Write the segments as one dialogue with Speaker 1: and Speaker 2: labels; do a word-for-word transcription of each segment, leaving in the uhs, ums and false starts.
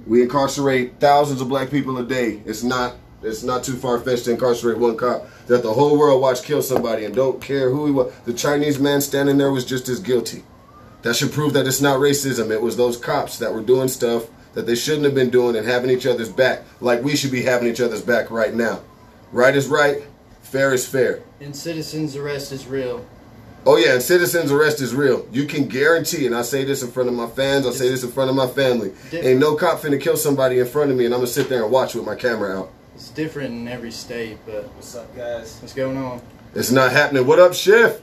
Speaker 1: We incarcerate thousands of black people a day. It's not it's not too far-fetched to incarcerate one cop that the whole world watched kill somebody and don't care who he was. The Chinese man standing there was just as guilty. That should prove that it's not racism. It was those cops that were doing stuff that they shouldn't have been doing and having each other's back, like we should be having each other's back right now. Right is right, fair is fair.
Speaker 2: And citizens' arrest is real.
Speaker 1: Oh yeah, and citizens' arrest is real. You can guarantee, and I say this in front of my fans, I say this in front of my family. Different. Ain't no cop finna kill somebody in front of me and I'm gonna sit there and watch with my camera out.
Speaker 2: It's different in every state, but
Speaker 3: what's up, guys?
Speaker 2: What's going on?
Speaker 1: It's not happening. What up, Chef?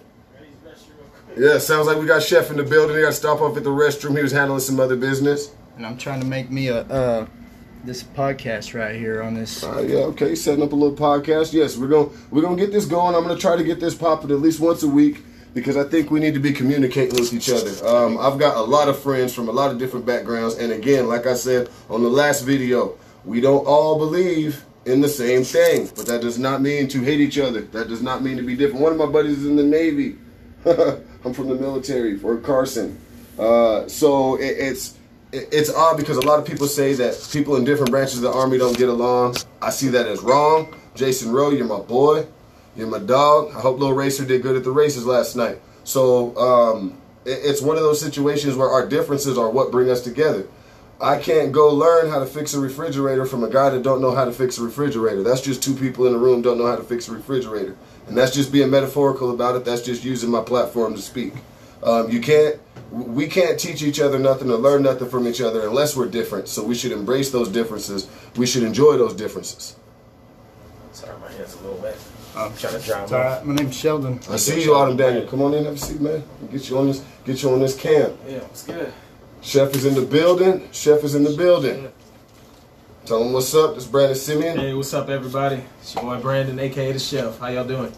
Speaker 1: Yeah, sounds like we got Chef in the building. He got to stop off at the restroom. He was handling some other business.
Speaker 2: And I'm trying to make me a uh, this podcast right here on this.
Speaker 1: Uh, yeah, okay. Setting up a little podcast. Yes, we're gonna we're gonna get this going. I'm gonna try to get this popping at least once a week because I think we need to be communicating with each other. Um, I've got a lot of friends from a lot of different backgrounds, and again, like I said on the last video, we don't all believe in the same thing, but that does not mean to hate each other. That does not mean to be different. One of my buddies is in the Navy. I'm from the military, Fort Carson. Uh, so it, it's it, it's odd because a lot of people say that people in different branches of the Army don't get along. I see that as wrong. Jason Rowe, you're my boy. You're my dog. I hope Lil Racer did good at the races last night. So um, it, it's one of those situations where our differences are what bring us together. I can't go learn how to fix a refrigerator from a guy that don't know how to fix a refrigerator. That's just two people in a room don't know how to fix a refrigerator. And that's just being metaphorical about it. That's just using my platform to speak. Um, you can't, we can't teach each other nothing or learn nothing from each other unless we're different. So we should embrace those differences. We should enjoy those differences.
Speaker 3: Sorry, my hand's a little wet.
Speaker 2: I'm
Speaker 3: trying to dry
Speaker 2: them off. My name's Sheldon.
Speaker 1: I see you, Autumn Daniel. Come on in, have a seat, man. Get you on this, get you on this cam.
Speaker 3: Yeah, it's good.
Speaker 1: Chef is in the building. Chef is in the building. Tell him what's up. This is Brandon Simeon.
Speaker 3: Hey, what's up, everybody? It's your boy Brandon, a k a the Chef. How y'all doing?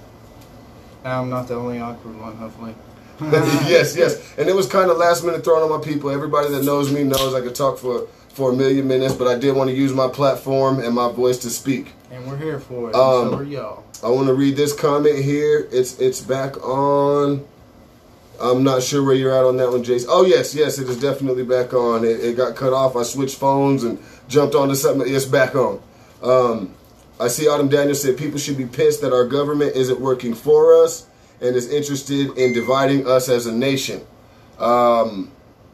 Speaker 2: I'm not the only awkward one, hopefully.
Speaker 1: Yes, yes. And it was kind of last minute thrown on my people. Everybody that knows me knows I could talk for, for a million minutes, but I did want to use my platform and my voice to speak.
Speaker 2: And we're here for it.
Speaker 1: Um,
Speaker 2: so are y'all.
Speaker 1: I want to read this comment here. It's it's back on. I'm not sure where you're at on that one, Jason. Oh, yes, yes, it is definitely back on. It, it got cut off. I switched phones and jumped onto something. It's back on. Um, I see Autumn Daniel said people should be pissed that our government isn't working for us and is interested in dividing us as a nation. Um,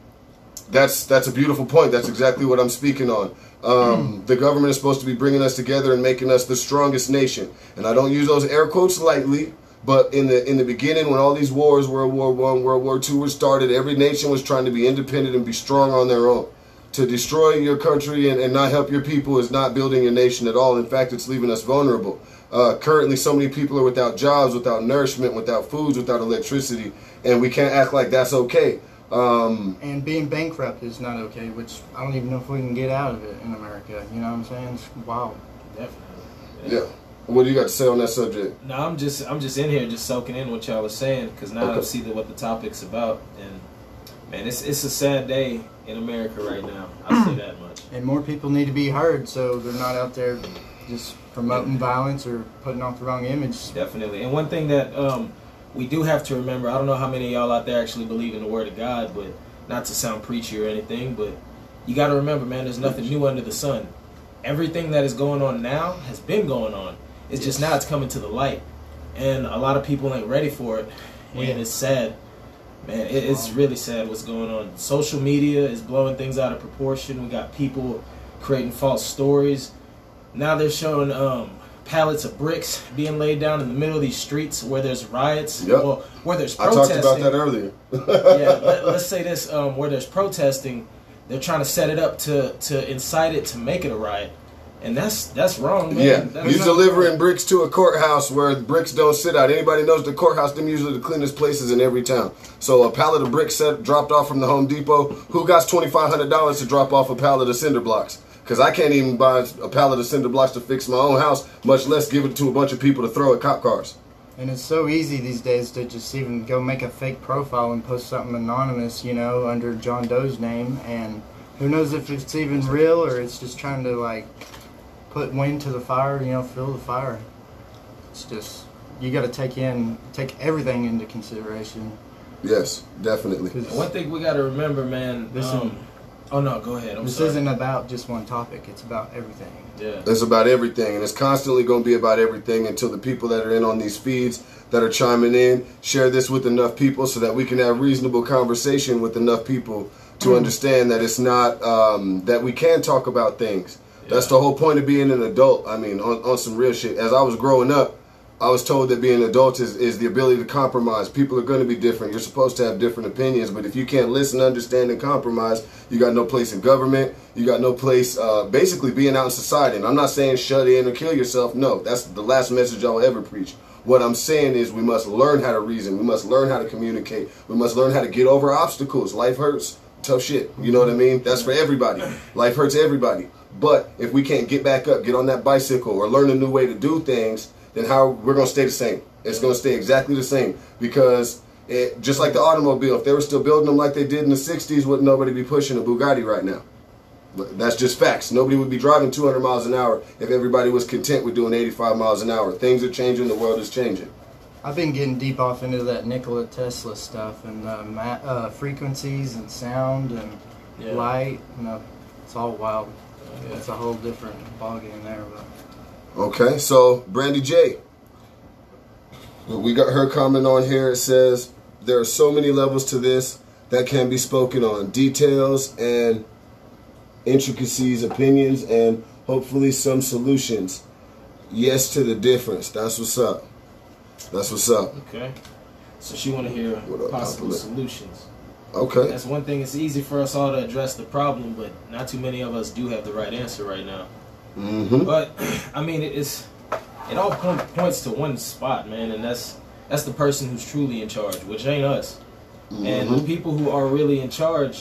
Speaker 1: that's that's a beautiful point. That's exactly what I'm speaking on. Um, the government is supposed to be bringing us together and making us the strongest nation. And I don't use those air quotes lightly. But in the in the beginning, when all these wars, World War One, World War Two, were started, every nation was trying to be independent and be strong on their own. To destroy your country and, and not help your people is not building your nation at all. In fact, it's leaving us vulnerable. Uh, currently, so many people are without jobs, without nourishment, without foods, without electricity, and we can't act like that's okay. Um,
Speaker 2: and being bankrupt is not okay, which I don't even know if we can get out of it in America. You know what I'm saying? It's wild.
Speaker 3: Definitely.
Speaker 1: Yeah. What do you got to say on that subject?
Speaker 3: No, I'm just I'm just in here just soaking in what y'all are saying because now okay. I see the, what the topic's about, and man, it's it's a sad day in America right now. I'll say that much.
Speaker 2: And more people need to be heard, so they're not out there just promoting yeah. violence or putting off the wrong image.
Speaker 3: Definitely. And one thing that um, we do have to remember, I don't know how many of y'all out there actually believe in the Word of God, but not to sound preachy or anything, but you got to remember, man, there's nothing new under the sun. Everything that is going on now has been going on. It's just now it's coming to the light, and a lot of people ain't ready for it, and yeah. it's sad. Man, it, it's really sad what's going on. Social media is blowing things out of proportion. We got people creating false stories. Now they're showing um, pallets of bricks being laid down in the middle of these streets where there's riots,
Speaker 1: yep.
Speaker 3: well, where there's
Speaker 1: I
Speaker 3: protesting.
Speaker 1: talked about that earlier.
Speaker 3: yeah, let, let's say this, um, where there's protesting, they're trying to set it up to, to incite it to make it a riot. And that's that's wrong, man.
Speaker 1: Yeah,
Speaker 3: that's
Speaker 1: you're delivering wrong. bricks to a courthouse where bricks don't sit out. Anybody knows the courthouse, them usually the cleanest places in every town. So a pallet of bricks set, dropped off from the Home Depot. Who got twenty-five hundred dollars to drop off a pallet of cinder blocks? Because I can't even buy a pallet of cinder blocks to fix my own house, much less give it to a bunch of people to throw at cop cars.
Speaker 2: And it's so easy these days to just even go make a fake profile and post something anonymous, you know, under John Doe's name. And who knows if it's even real or it's just trying to, like, put wind to the fire, you know, fill the fire. It's just, you got to take in, take everything into consideration.
Speaker 1: Yes, definitely.
Speaker 3: One thing we got to remember, man,
Speaker 2: listen,
Speaker 3: um, Oh no, go ahead. I'm
Speaker 2: this
Speaker 3: sorry.
Speaker 2: isn't about just one topic. It's about everything.
Speaker 3: Yeah.
Speaker 1: It's about everything, and it's constantly going to be about everything until the people that are in on these feeds that are chiming in share this with enough people so that we can have reasonable conversation with enough people to understand that it's not um, that we can talk about things. Yeah. That's the whole point of being an adult. I mean, on, on some real shit. As I was growing up, I was told that being an adult is, is the ability to compromise. People are going to be different. You're supposed to have different opinions, but if you can't listen, understand, and compromise, you got no place in government. You got no place uh, basically being out in society. And I'm not saying shut in or kill yourself. No, that's the last message I'll ever preach. What I'm saying is we must learn how to reason. We must learn how to communicate. We must learn how to get over obstacles. Life hurts. Tough shit. You know what I mean? That's for everybody. Life hurts everybody. But if we can't get back up, get on that bicycle, or learn a new way to do things, then how we're going to stay the same. It's going to stay exactly the same because it, just like the automobile, if they were still building them like they did in the sixties, wouldn't nobody be pushing a Bugatti right now? But that's just facts. Nobody would be driving two hundred miles an hour if everybody was content with doing eighty-five miles an hour. Things are changing. The world is changing.
Speaker 2: I've been getting deep off into that Nikola Tesla stuff and uh, ma uh, frequencies and sound and
Speaker 3: Yeah.
Speaker 2: light. You know, it's all wild.
Speaker 3: Yeah.
Speaker 2: It's a whole different ballgame there. But
Speaker 1: Okay, so Brandy J. We got her comment on here. It says, there are so many levels to this that can be spoken on. Details and intricacies, opinions, and hopefully some solutions. Yes to the difference. That's what's up. That's what's up.
Speaker 3: Okay. So she want to hear
Speaker 1: What up,
Speaker 3: possible
Speaker 1: Papa?
Speaker 3: solutions.
Speaker 1: Okay.
Speaker 3: That's one thing. It's easy for us all to address the problem, but not too many of us do have the right answer right now.
Speaker 1: Mm-hmm.
Speaker 3: But I mean, it is. It all point, points to one spot, man, and that's that's the person who's truly in charge, which ain't us.
Speaker 1: Mm-hmm.
Speaker 3: And the people who are really in charge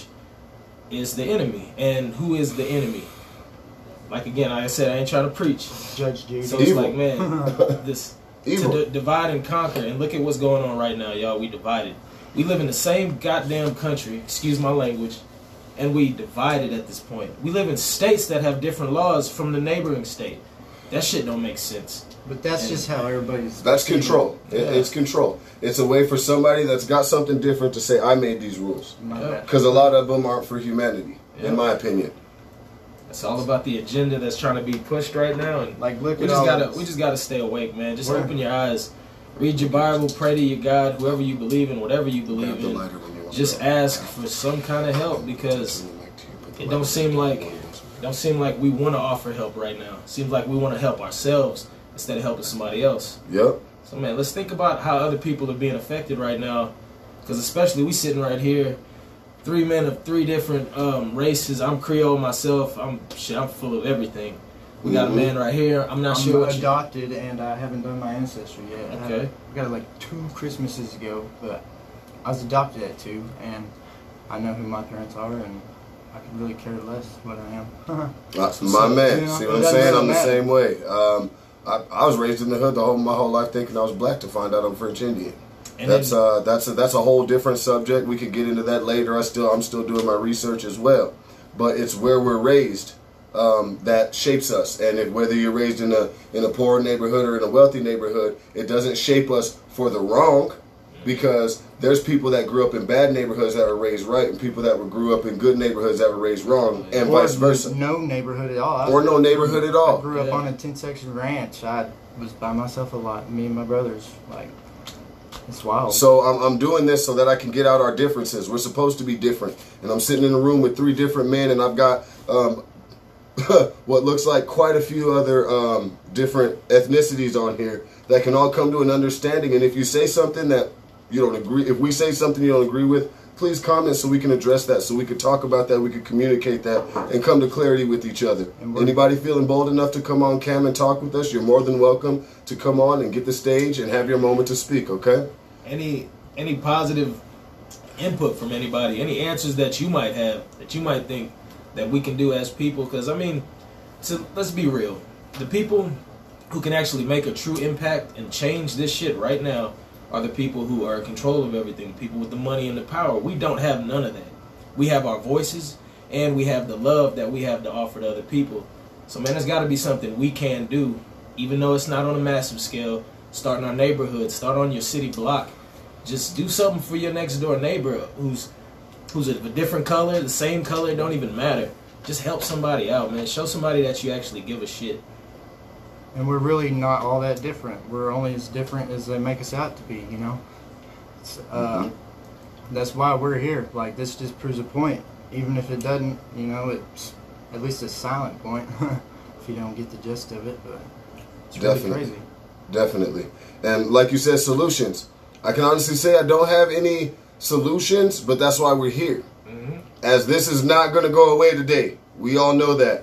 Speaker 3: is the enemy. And who is the enemy? Like again, like I said, I ain't trying to preach.
Speaker 2: Judge Judy.
Speaker 3: So it's
Speaker 1: Evil.
Speaker 3: like, man, this
Speaker 1: Evil.
Speaker 3: to d- divide and conquer. And look at what's going on right now, y'all. We divided. We live in the same goddamn country. Excuse my language. And we divided at this point. We live in states that have different laws from the neighboring state. That shit don't make sense.
Speaker 2: But that's
Speaker 3: And
Speaker 2: just how everybody's.
Speaker 1: That's control. It,
Speaker 3: Yeah.
Speaker 1: It's control. It's a way for somebody that's got something different to say, I made these rules.
Speaker 2: My
Speaker 3: Yeah.
Speaker 2: bad.
Speaker 1: Because a lot of them aren't for humanity,
Speaker 3: Yeah.
Speaker 1: in my opinion.
Speaker 3: It's all about the agenda that's trying to be pushed right now. And
Speaker 2: Like, look
Speaker 3: we
Speaker 2: at
Speaker 3: just
Speaker 2: all
Speaker 3: gotta
Speaker 2: this.
Speaker 3: we just gotta stay awake, man. Just
Speaker 2: We're-
Speaker 3: open your eyes, read your Bible, pray to your God, whoever you believe in, whatever you believe
Speaker 1: Grab the
Speaker 3: in.
Speaker 1: lighter when you want
Speaker 3: Just
Speaker 1: to.
Speaker 3: ask for some kind of help because it don't seem like it don't seem like we want to offer help right now. It seems like we want to help ourselves instead of helping somebody else.
Speaker 1: Yep.
Speaker 3: So man, let's think about how other people are being affected right now, because especially we sitting right here, three men of three different um, races. I'm Creole myself. I'm shit. I'm full of everything. We got
Speaker 1: Mhm.
Speaker 3: a man right here. I'm not
Speaker 2: I'm
Speaker 3: sure what you.
Speaker 2: adopted and I haven't done my ancestry yet. I
Speaker 3: Okay.
Speaker 2: have- I got it like two Christmases ago, but I was adopted at two, and I know who my parents are, and I could really care less what I am.
Speaker 1: That's my man.
Speaker 2: You know,
Speaker 1: See
Speaker 2: it
Speaker 1: what I'm
Speaker 2: doesn't
Speaker 1: saying?
Speaker 2: really
Speaker 1: I'm the
Speaker 2: matter.
Speaker 1: same way. Um, I, I was raised in the hood the whole my whole life thinking I was black to find out I'm French Indian.
Speaker 3: And
Speaker 1: That's
Speaker 3: then,
Speaker 1: uh that's a, that's a whole different subject. We could get into that later. I still I'm still doing my research as well, but it's where we're raised um, that shapes us. And if whether you're raised in a in a poor neighborhood or in a wealthy neighborhood, it doesn't shape us for the wrong, because there's people that grew up in bad neighborhoods that were raised right, and people that were grew up in good neighborhoods that were raised wrong, and
Speaker 2: Or
Speaker 1: vice versa,
Speaker 2: No neighborhood at all. I
Speaker 1: or no neighborhood at
Speaker 2: I
Speaker 1: all.
Speaker 2: grew up
Speaker 3: Yeah.
Speaker 2: on a ten section ranch. I was by myself a lot. Me and my brothers. Like, it's wild.
Speaker 1: So I'm, I'm doing this so that I can get out our differences. We're supposed to be different. And I'm sitting in a room with three different men, and I've got um, what looks like quite a few other um, different ethnicities on here that can all come to an understanding. And if you say something that you don't agree, if we say something you don't agree with, please comment so we can address that, so we can talk about that, we can communicate that, and come to clarity with each other.
Speaker 2: And we're-
Speaker 1: Anybody feeling bold enough to come on cam and talk with us, you're more than welcome to come on and get the stage and have your moment to speak, okay?
Speaker 3: any any positive input from anybody, any answers that you might have, that you might think that we can do as people. Because I mean, so let's be real, the people who can actually make a true impact and change this shit right now are the people who are in control of everything, people with the money and the power. We don't have none of that. We have our voices, and we have the love that we have to offer to other people. So man, there's got to be something we can do, even though it's not on a massive scale. Start in our neighborhood, start on your city block. Just do something for your next door neighbor who's who's of a different color, the same color, it don't even matter. Just help somebody out, man. Show somebody that you actually give a shit.
Speaker 2: And we're really not all that different. We're only as different as they make us out to be, you know? It's, uh, mm-hmm. That's why we're here. Like, this just proves a point. Even if it doesn't, you know, it's at least a silent point if you don't get the gist of it. But it's really
Speaker 1: Definitely.
Speaker 2: crazy.
Speaker 1: Definitely. And like you said, solutions. I can honestly say I don't have any solutions, but that's why we're here. Mm-hmm. As this is not going to go away today. We all know that.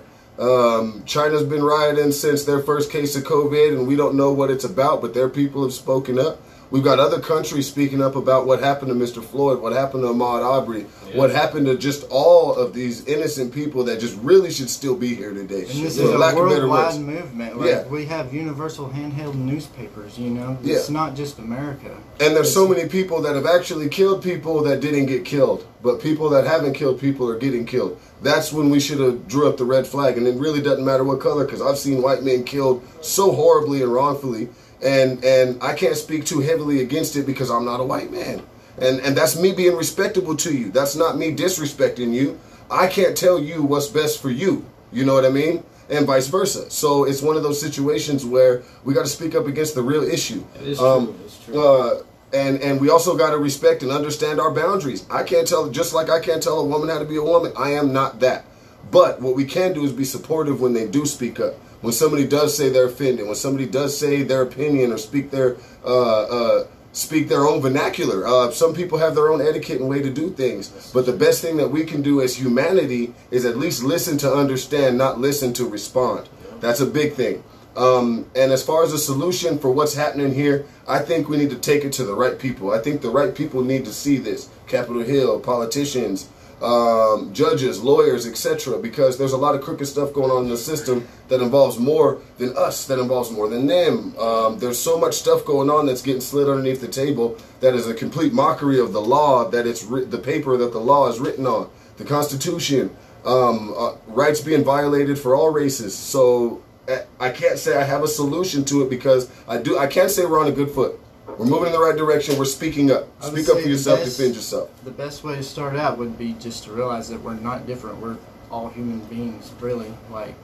Speaker 1: Um, China's been rioting since their first case of COVID, and we don't know what it's about, but their people have spoken up. We've got other countries speaking up about what happened to Mister Floyd, what happened to Ahmaud Arbery, yeah. what happened to just all of these innocent people that just really should still be here today.
Speaker 2: And this
Speaker 1: For
Speaker 2: is a
Speaker 1: lack of better
Speaker 2: worldwide
Speaker 1: words.
Speaker 2: movement. Like,
Speaker 1: Yeah.
Speaker 2: we have universal handheld newspapers, you know?
Speaker 1: Yeah.
Speaker 2: It's not just America.
Speaker 1: And there's
Speaker 2: It's-
Speaker 1: so many people that have actually killed people that didn't get killed. But people that haven't killed people are getting killed. That's when we should have drew up the red flag. And it really doesn't matter what color, because I've seen white men killed so horribly and wrongfully. And and I can't speak too heavily against it because I'm not a white man. And and that's me being respectable to you. That's not me disrespecting you. I can't tell you what's best for you. You know what I mean? And vice versa. So it's one of those situations where we got to speak up against the real issue.
Speaker 3: It is
Speaker 1: um,
Speaker 3: true. It's true.
Speaker 1: Uh, and and we also got to respect and understand our boundaries. I can't tell, just like I can't tell a woman how to be a woman. I am not that. But what we can do is be supportive when they do speak up. When somebody does say they're offended, when somebody does say their opinion or speak their uh, uh, speak their own vernacular. Uh, some people have their own etiquette and way to do things. But the best thing that we can do as humanity is at least listen to understand, not listen to respond. That's a big thing. Um, and as far as a solution for what's happening here, I think we need to take it to the right people. I think the right people need to see this. Capitol Hill, politicians, um, judges, lawyers, et cetera. Because there's a lot of crooked stuff going on in the system that involves more than us, that involves more than them. Um, there's so much stuff going on that's getting slid underneath the table that is a complete mockery of the law, that it's ri- the paper that the law is written on, the Constitution, um, uh, rights being violated for all races. So I can't say I have a solution to it because I do. I can't say we're on a good foot. We're moving in the right direction. We're speaking up.
Speaker 2: I would
Speaker 1: Speak up
Speaker 2: say
Speaker 1: for
Speaker 2: the
Speaker 1: yourself.
Speaker 2: best-
Speaker 1: Defend yourself.
Speaker 2: The best way to start out would be just to realize that we're not different. We're all human beings, really. Like,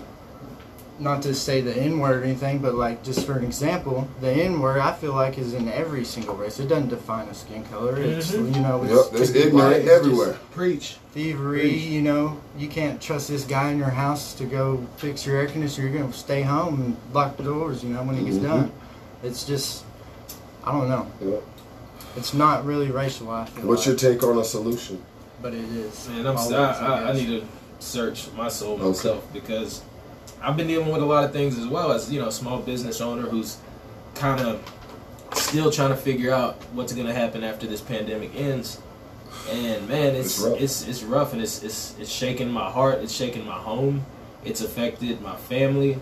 Speaker 2: not to say the N-word or anything, but like, just for an example, the N-word I feel like is in every single race. It doesn't define a skin color. It's,
Speaker 3: Mhm.
Speaker 2: you know, it's,
Speaker 1: Yep, there's
Speaker 2: could be
Speaker 1: ignorant
Speaker 2: white, it's just
Speaker 1: everywhere.
Speaker 3: Preach.
Speaker 2: Thievery,
Speaker 3: Preach.
Speaker 2: you know, you can't trust this guy in your house to go fix your air conditioner. You're going to stay home and lock the doors, you know, when he gets
Speaker 1: Mhm.
Speaker 2: done. It's just, I don't know.
Speaker 1: Yep.
Speaker 2: It's not really racial, I feel
Speaker 1: What's your
Speaker 2: like,
Speaker 1: take on a solution?
Speaker 2: but it is.
Speaker 3: Man, I'm,
Speaker 2: Always,
Speaker 3: I, I, I
Speaker 2: guess.
Speaker 3: need to search my soul
Speaker 1: Okay.
Speaker 3: myself because I've been dealing with a lot of things as well as, you know, a small business owner who's kind of still trying to figure out what's going to happen after this pandemic ends. And man, it's
Speaker 1: It's rough.
Speaker 3: it's it's rough, and it's it's it's shaking my heart. It's shaking my home. It's affected my family.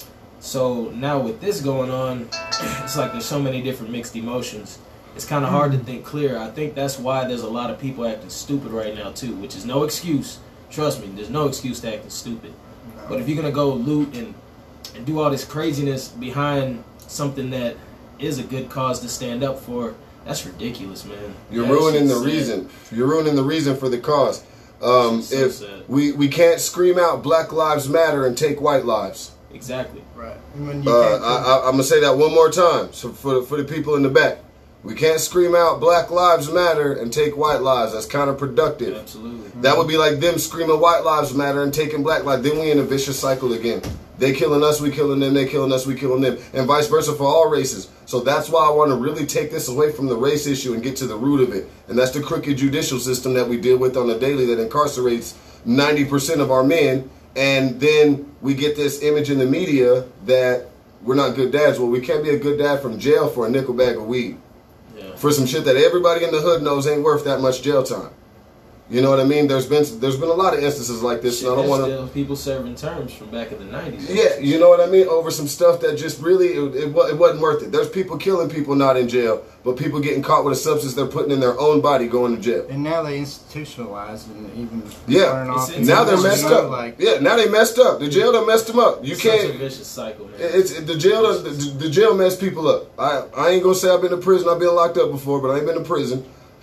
Speaker 3: So now with this going on, it's like there's so many different mixed emotions. It's kind of hard to think clear. I think that's why there's a lot of people acting stupid right now too, which is no excuse. Trust me, there's no excuse to acting stupid. But if you're gonna go loot and and do all this craziness behind something that is a good cause to stand up for, that's ridiculous, man.
Speaker 1: You're
Speaker 3: That
Speaker 1: ruining the
Speaker 3: shit's sad.
Speaker 1: reason. You're ruining the reason for the cause. Um,
Speaker 3: So
Speaker 1: if
Speaker 3: sad.
Speaker 1: we we can't scream out Black Lives Matter and take white lives.
Speaker 3: Exactly.
Speaker 2: Right. And when you
Speaker 1: Uh,
Speaker 2: can't
Speaker 1: I, I, I'm gonna say that one more time. So for the, for the people in the back, we can't scream out Black Lives Matter and take white lives. That's counterproductive.
Speaker 3: Absolutely.
Speaker 1: That would be like them screaming White Lives Matter and taking Black lives. Then we in a vicious cycle again. They killing us, we killing them. They killing us, we killing them, and vice versa for all races. So that's why I want to really take this away from the race issue and get to the root of it. And that's the crooked judicial system that we deal with on a daily that incarcerates ninety percent of our men. And then we get this image in the media that we're not good dads. Well, we can't be a good dad from jail for a nickel bag of weed.
Speaker 3: Yeah.
Speaker 1: For some shit that everybody in the hood knows ain't worth that much jail time. You know what I mean? There's been there's been a lot of instances like this,
Speaker 3: Shit,
Speaker 1: and I don't
Speaker 3: there's
Speaker 1: want to.
Speaker 3: still people serving terms from back in the nineties.
Speaker 1: Yeah, you know what I mean? Over some stuff that just really, it, it, wa- it wasn't worth it. There's people killing people not in jail, but people getting caught with a substance they're putting in their own body going to jail.
Speaker 2: And now they institutionalized and even
Speaker 1: Yeah,
Speaker 2: turn off.
Speaker 3: It's- it's
Speaker 1: Now they're
Speaker 3: you
Speaker 1: messed
Speaker 2: know,
Speaker 1: up.
Speaker 2: Like,
Speaker 1: Yeah, now they messed up. The jail done messed them up. You
Speaker 3: It's
Speaker 1: can't.
Speaker 3: such a vicious cycle, man.
Speaker 1: It's the jail. done- The, the jail messed people up. I I ain't gonna say I've been to prison. I've been locked up before, but I ain't been to prison.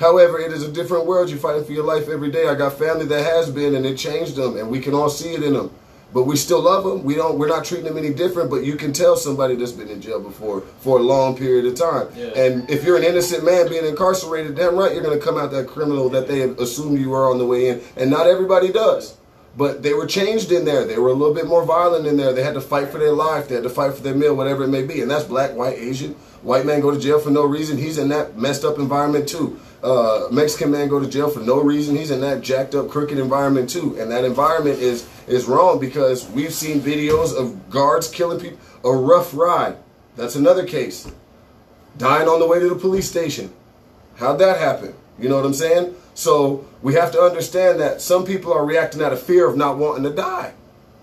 Speaker 1: However, it is a different world. You're fighting for your life every day. I got family that has been, and it changed them, and we can all see it in them. But we still love them. We don't. We're not treating them any different. But you can tell somebody that's been in jail before for a long period of time.
Speaker 3: Yeah.
Speaker 1: And if you're an innocent man being incarcerated, damn right, you're going to come out that criminal that they assumed you were on the way in. And not everybody does. But they were changed in there. They were a little bit more violent in there. They had to fight for their life. They had to fight for their meal, whatever it may be. And that's black, white, Asian. White man go to jail for no reason. He's in that messed up environment too. Uh, Mexican man go to jail for no reason. He's in that jacked up, crooked environment too. And that environment is is wrong because we've seen videos of guards killing people. A rough ride. That's another case. Dying on the way to the police station. How'd that happen? You know what I'm saying? So we have to understand that some people are reacting out of fear of not wanting to die.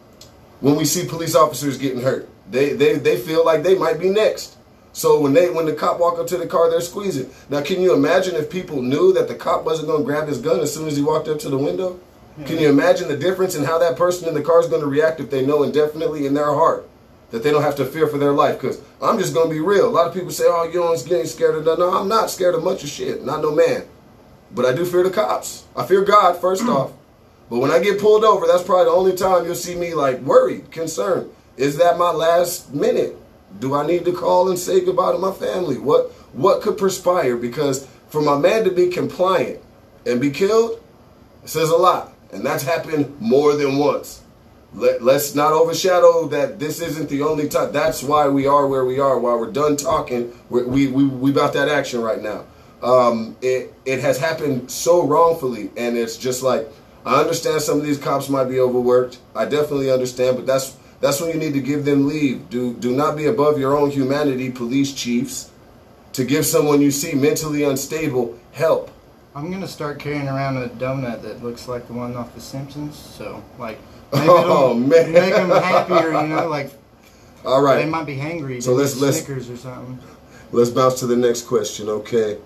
Speaker 1: When we see police officers getting hurt, they they, they feel like they might be next. So when they when the cop walk up to the car, they're squeezing. Now, can you imagine if people knew that the cop wasn't going to grab his gun as soon as he walked up to the window? Yeah. Can you imagine the difference in how that person in the car is going to react if they know indefinitely in their heart that they don't have to fear for their life? Because I'm just going to be real. A lot of people say, oh, you don't get scared of that. No, I'm not scared of much of shit. Not no man. But I do fear the cops. I fear God, first off. But when I get pulled over, that's probably the only time you'll see me like worried, concerned. Is that my last minute? Do I need to call and say goodbye to my family? What what could perspire? Because for my man to be compliant and be killed, it says a lot. And that's happened more than once. Let, let's not overshadow that this isn't the only time. That's why we are where we are. While we're done talking, we're, we, we, we about that action right now. Um, it, it has happened so wrongfully. And it's just like, I understand some of these cops might be overworked. I definitely understand, but that's That's when you need to give them leave. Do do not be above your own humanity, police chiefs, to give someone you see mentally unstable help.
Speaker 2: I'm going to start carrying around a donut that looks like the one off The Simpsons. So, like, maybe oh, man. make them happier, you know? Like,
Speaker 1: all right.
Speaker 2: They might be hangry.
Speaker 1: So let's, let's,
Speaker 2: Snickers or something.
Speaker 1: Let's bounce to the next question, okay?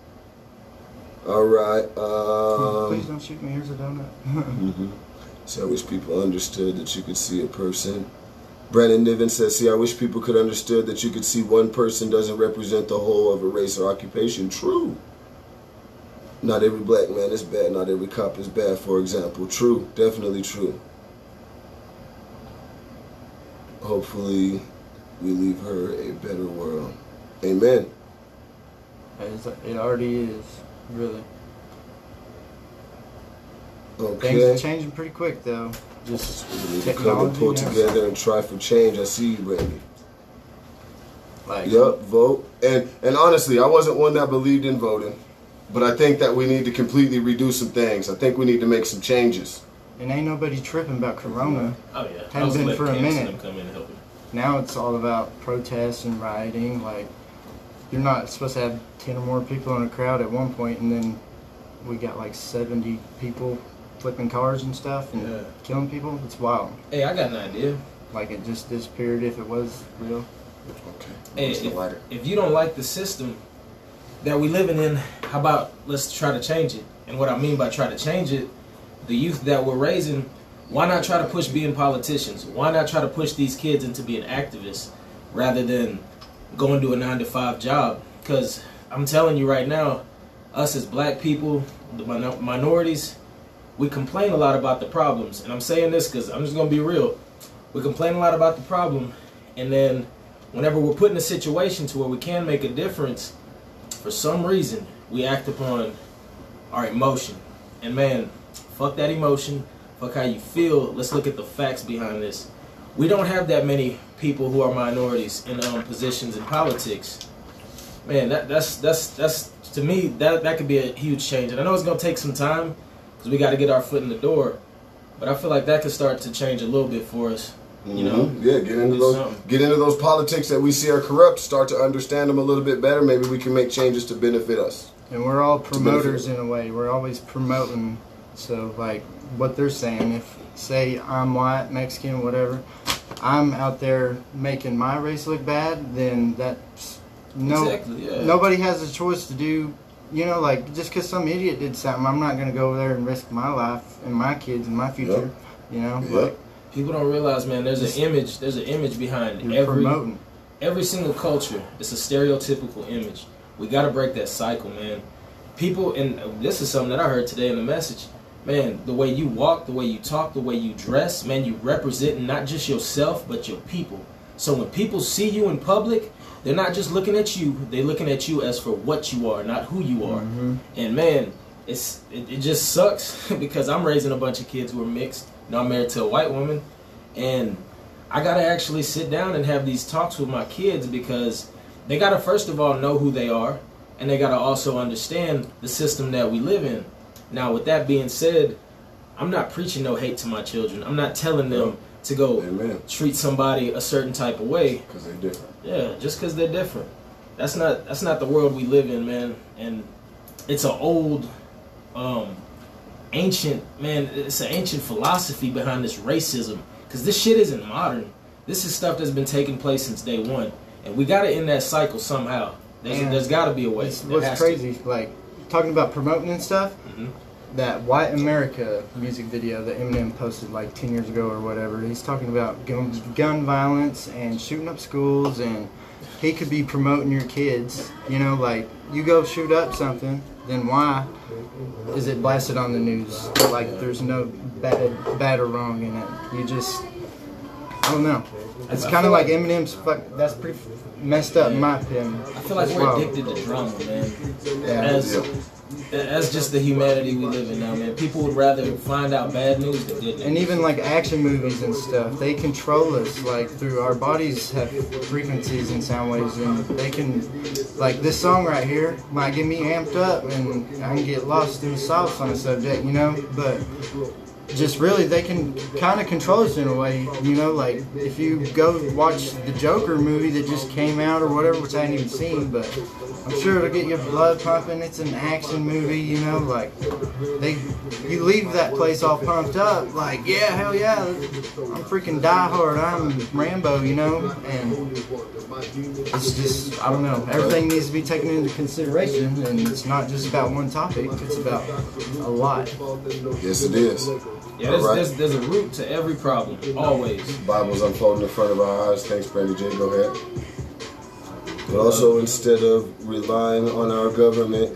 Speaker 1: All right. Um,
Speaker 2: Please don't shoot me. Here's a donut.
Speaker 1: mm-hmm. So I wish people understood that you could see a person. Brandon Niven says, see, I wish people could understood that you could see one person doesn't represent the whole of a race or occupation. True. Not every black man is bad. Not every cop is bad, for example. True. Definitely true. Hopefully we leave her a better world. Amen.
Speaker 2: It already is, really.
Speaker 1: Okay.
Speaker 2: Things are changing pretty quick, though. Just
Speaker 1: we need to come and pull together and try for change. I see you, baby.
Speaker 2: Like,
Speaker 1: yep, vote. And and honestly, I wasn't one that believed in voting, but I think that we need to completely redo some things. I think we need to make some changes.
Speaker 2: And ain't nobody tripping about Corona.
Speaker 3: Oh yeah,
Speaker 2: hasn't been for a minute.
Speaker 3: Come in and help
Speaker 2: now it's all about protests and rioting. Like, you're not supposed to have ten or more people in a crowd at one point, and then we got like seventy people flipping cars and stuff and yeah. killing people. It's wild.
Speaker 3: Hey, I got an idea.
Speaker 2: Like, it just disappeared if it was real.
Speaker 1: Okay.
Speaker 3: Hey, if, if you don't like the system that we living in, how about let's try to change it? And what I mean by try to change it, the youth that we're raising, why not try to push being politicians? Why not try to push these kids into being activists rather than going to a nine to five job? Because I'm telling you right now, us as black people, the min minorities, we complain a lot about the problems. And I'm saying this because I'm just going to be real. We complain a lot about the problem, and then whenever we're put in a situation to where we can make a difference, for some reason, we act upon our emotion. And man, fuck that emotion. Fuck how you feel. Let's look at the facts behind this. We don't have that many people who are minorities in um, positions in politics. Man, that, that's that's that's to me that that could be a huge change. And I know it's gonna take some time because we got to get our foot in the door. But I feel like that could start to change a little bit for us. You know,
Speaker 1: mm-hmm. yeah, get into those something. get into those politics that we see are corrupt. Start to understand them a little bit better. Maybe we can make changes to benefit us.
Speaker 2: And we're all promoters in a way. We're always promoting. So, like, what they're saying, if, say, I'm white, Mexican, whatever, I'm out there making my race look bad, then that's, no,
Speaker 3: exactly, yeah.
Speaker 2: nobody has a choice to do, you know, like, just because some idiot did something, I'm not going to go over there and risk my life and my kids and my future, yep. you know,
Speaker 1: yep.
Speaker 2: like.
Speaker 3: People don't realize, man, there's an image, there's an image behind every,
Speaker 2: promoting.
Speaker 3: every single culture. It's a stereotypical image. We got to break that cycle, man. people, and this is something that I heard today in the message, man, the way you walk, the way you talk, the way you dress, man, you represent not just yourself, but your people. So when people see you in public, they're not just looking at you, they're looking at you as for what you are, not who you are. Mm-hmm. And man, it's it, it just sucks because I'm raising a bunch of kids who are mixed. You know, I'm married to a white woman, and I gotta actually sit down and have these talks with my kids because they gotta first of all know who they are, and they gotta also understand the system that we live in. Now, with that being said, I'm not preaching no hate to my children. I'm not telling them to go Amen. Treat somebody a certain type of way
Speaker 1: because they're different.
Speaker 3: Yeah, just because they're different. That's not that's not the world we live in, man. And it's an old, um, ancient man. It's an ancient philosophy behind this racism. Because this shit isn't modern. This is stuff that's been taking place since day one, and we gotta end that cycle somehow. There's, there's got to be a way.
Speaker 2: What's crazy, to. like talking about promoting and stuff. Mm-hmm. That White America music video that Eminem posted like ten years ago or whatever, he's talking about gun, gun violence and shooting up schools, and he could be promoting your kids. You know, like, you go shoot up something, then why is it blasted on the news? Like, there's no bad, bad or wrong in it. You just, I don't know. It's kind of like Eminem's, fuck, that's pretty messed up in my opinion.
Speaker 3: I feel like we're addicted to drama, man. Yeah. As, That's just the humanity we live in now, man. People would rather find out bad news than good news.
Speaker 2: And even like action movies and stuff, they control us. Like, through our bodies have frequencies and sound waves, and they can, like, this song right here might get me amped up, and I can get lost in the sauce on the subject, you know. But just really, they can kind of control us in a way, you know. Like, if you go watch the Joker movie that just came out or whatever, which I haven't even seen, but I'm sure it'll get your blood pumping. It's an action movie, you know. Like, they, you leave that place all pumped up, like, yeah, hell yeah, I'm freaking Die Hard, I'm Rambo, you know. And it's just, I don't know, everything needs to be taken into consideration, and it's not just about one topic, it's about a lot.
Speaker 1: Yes, it is.
Speaker 3: Yeah, there's, right. there's, there's a root to every problem, always.
Speaker 1: Bible's unfolding in front of our eyes. Thanks, Brandy J. Go ahead. But also, instead of relying on our government,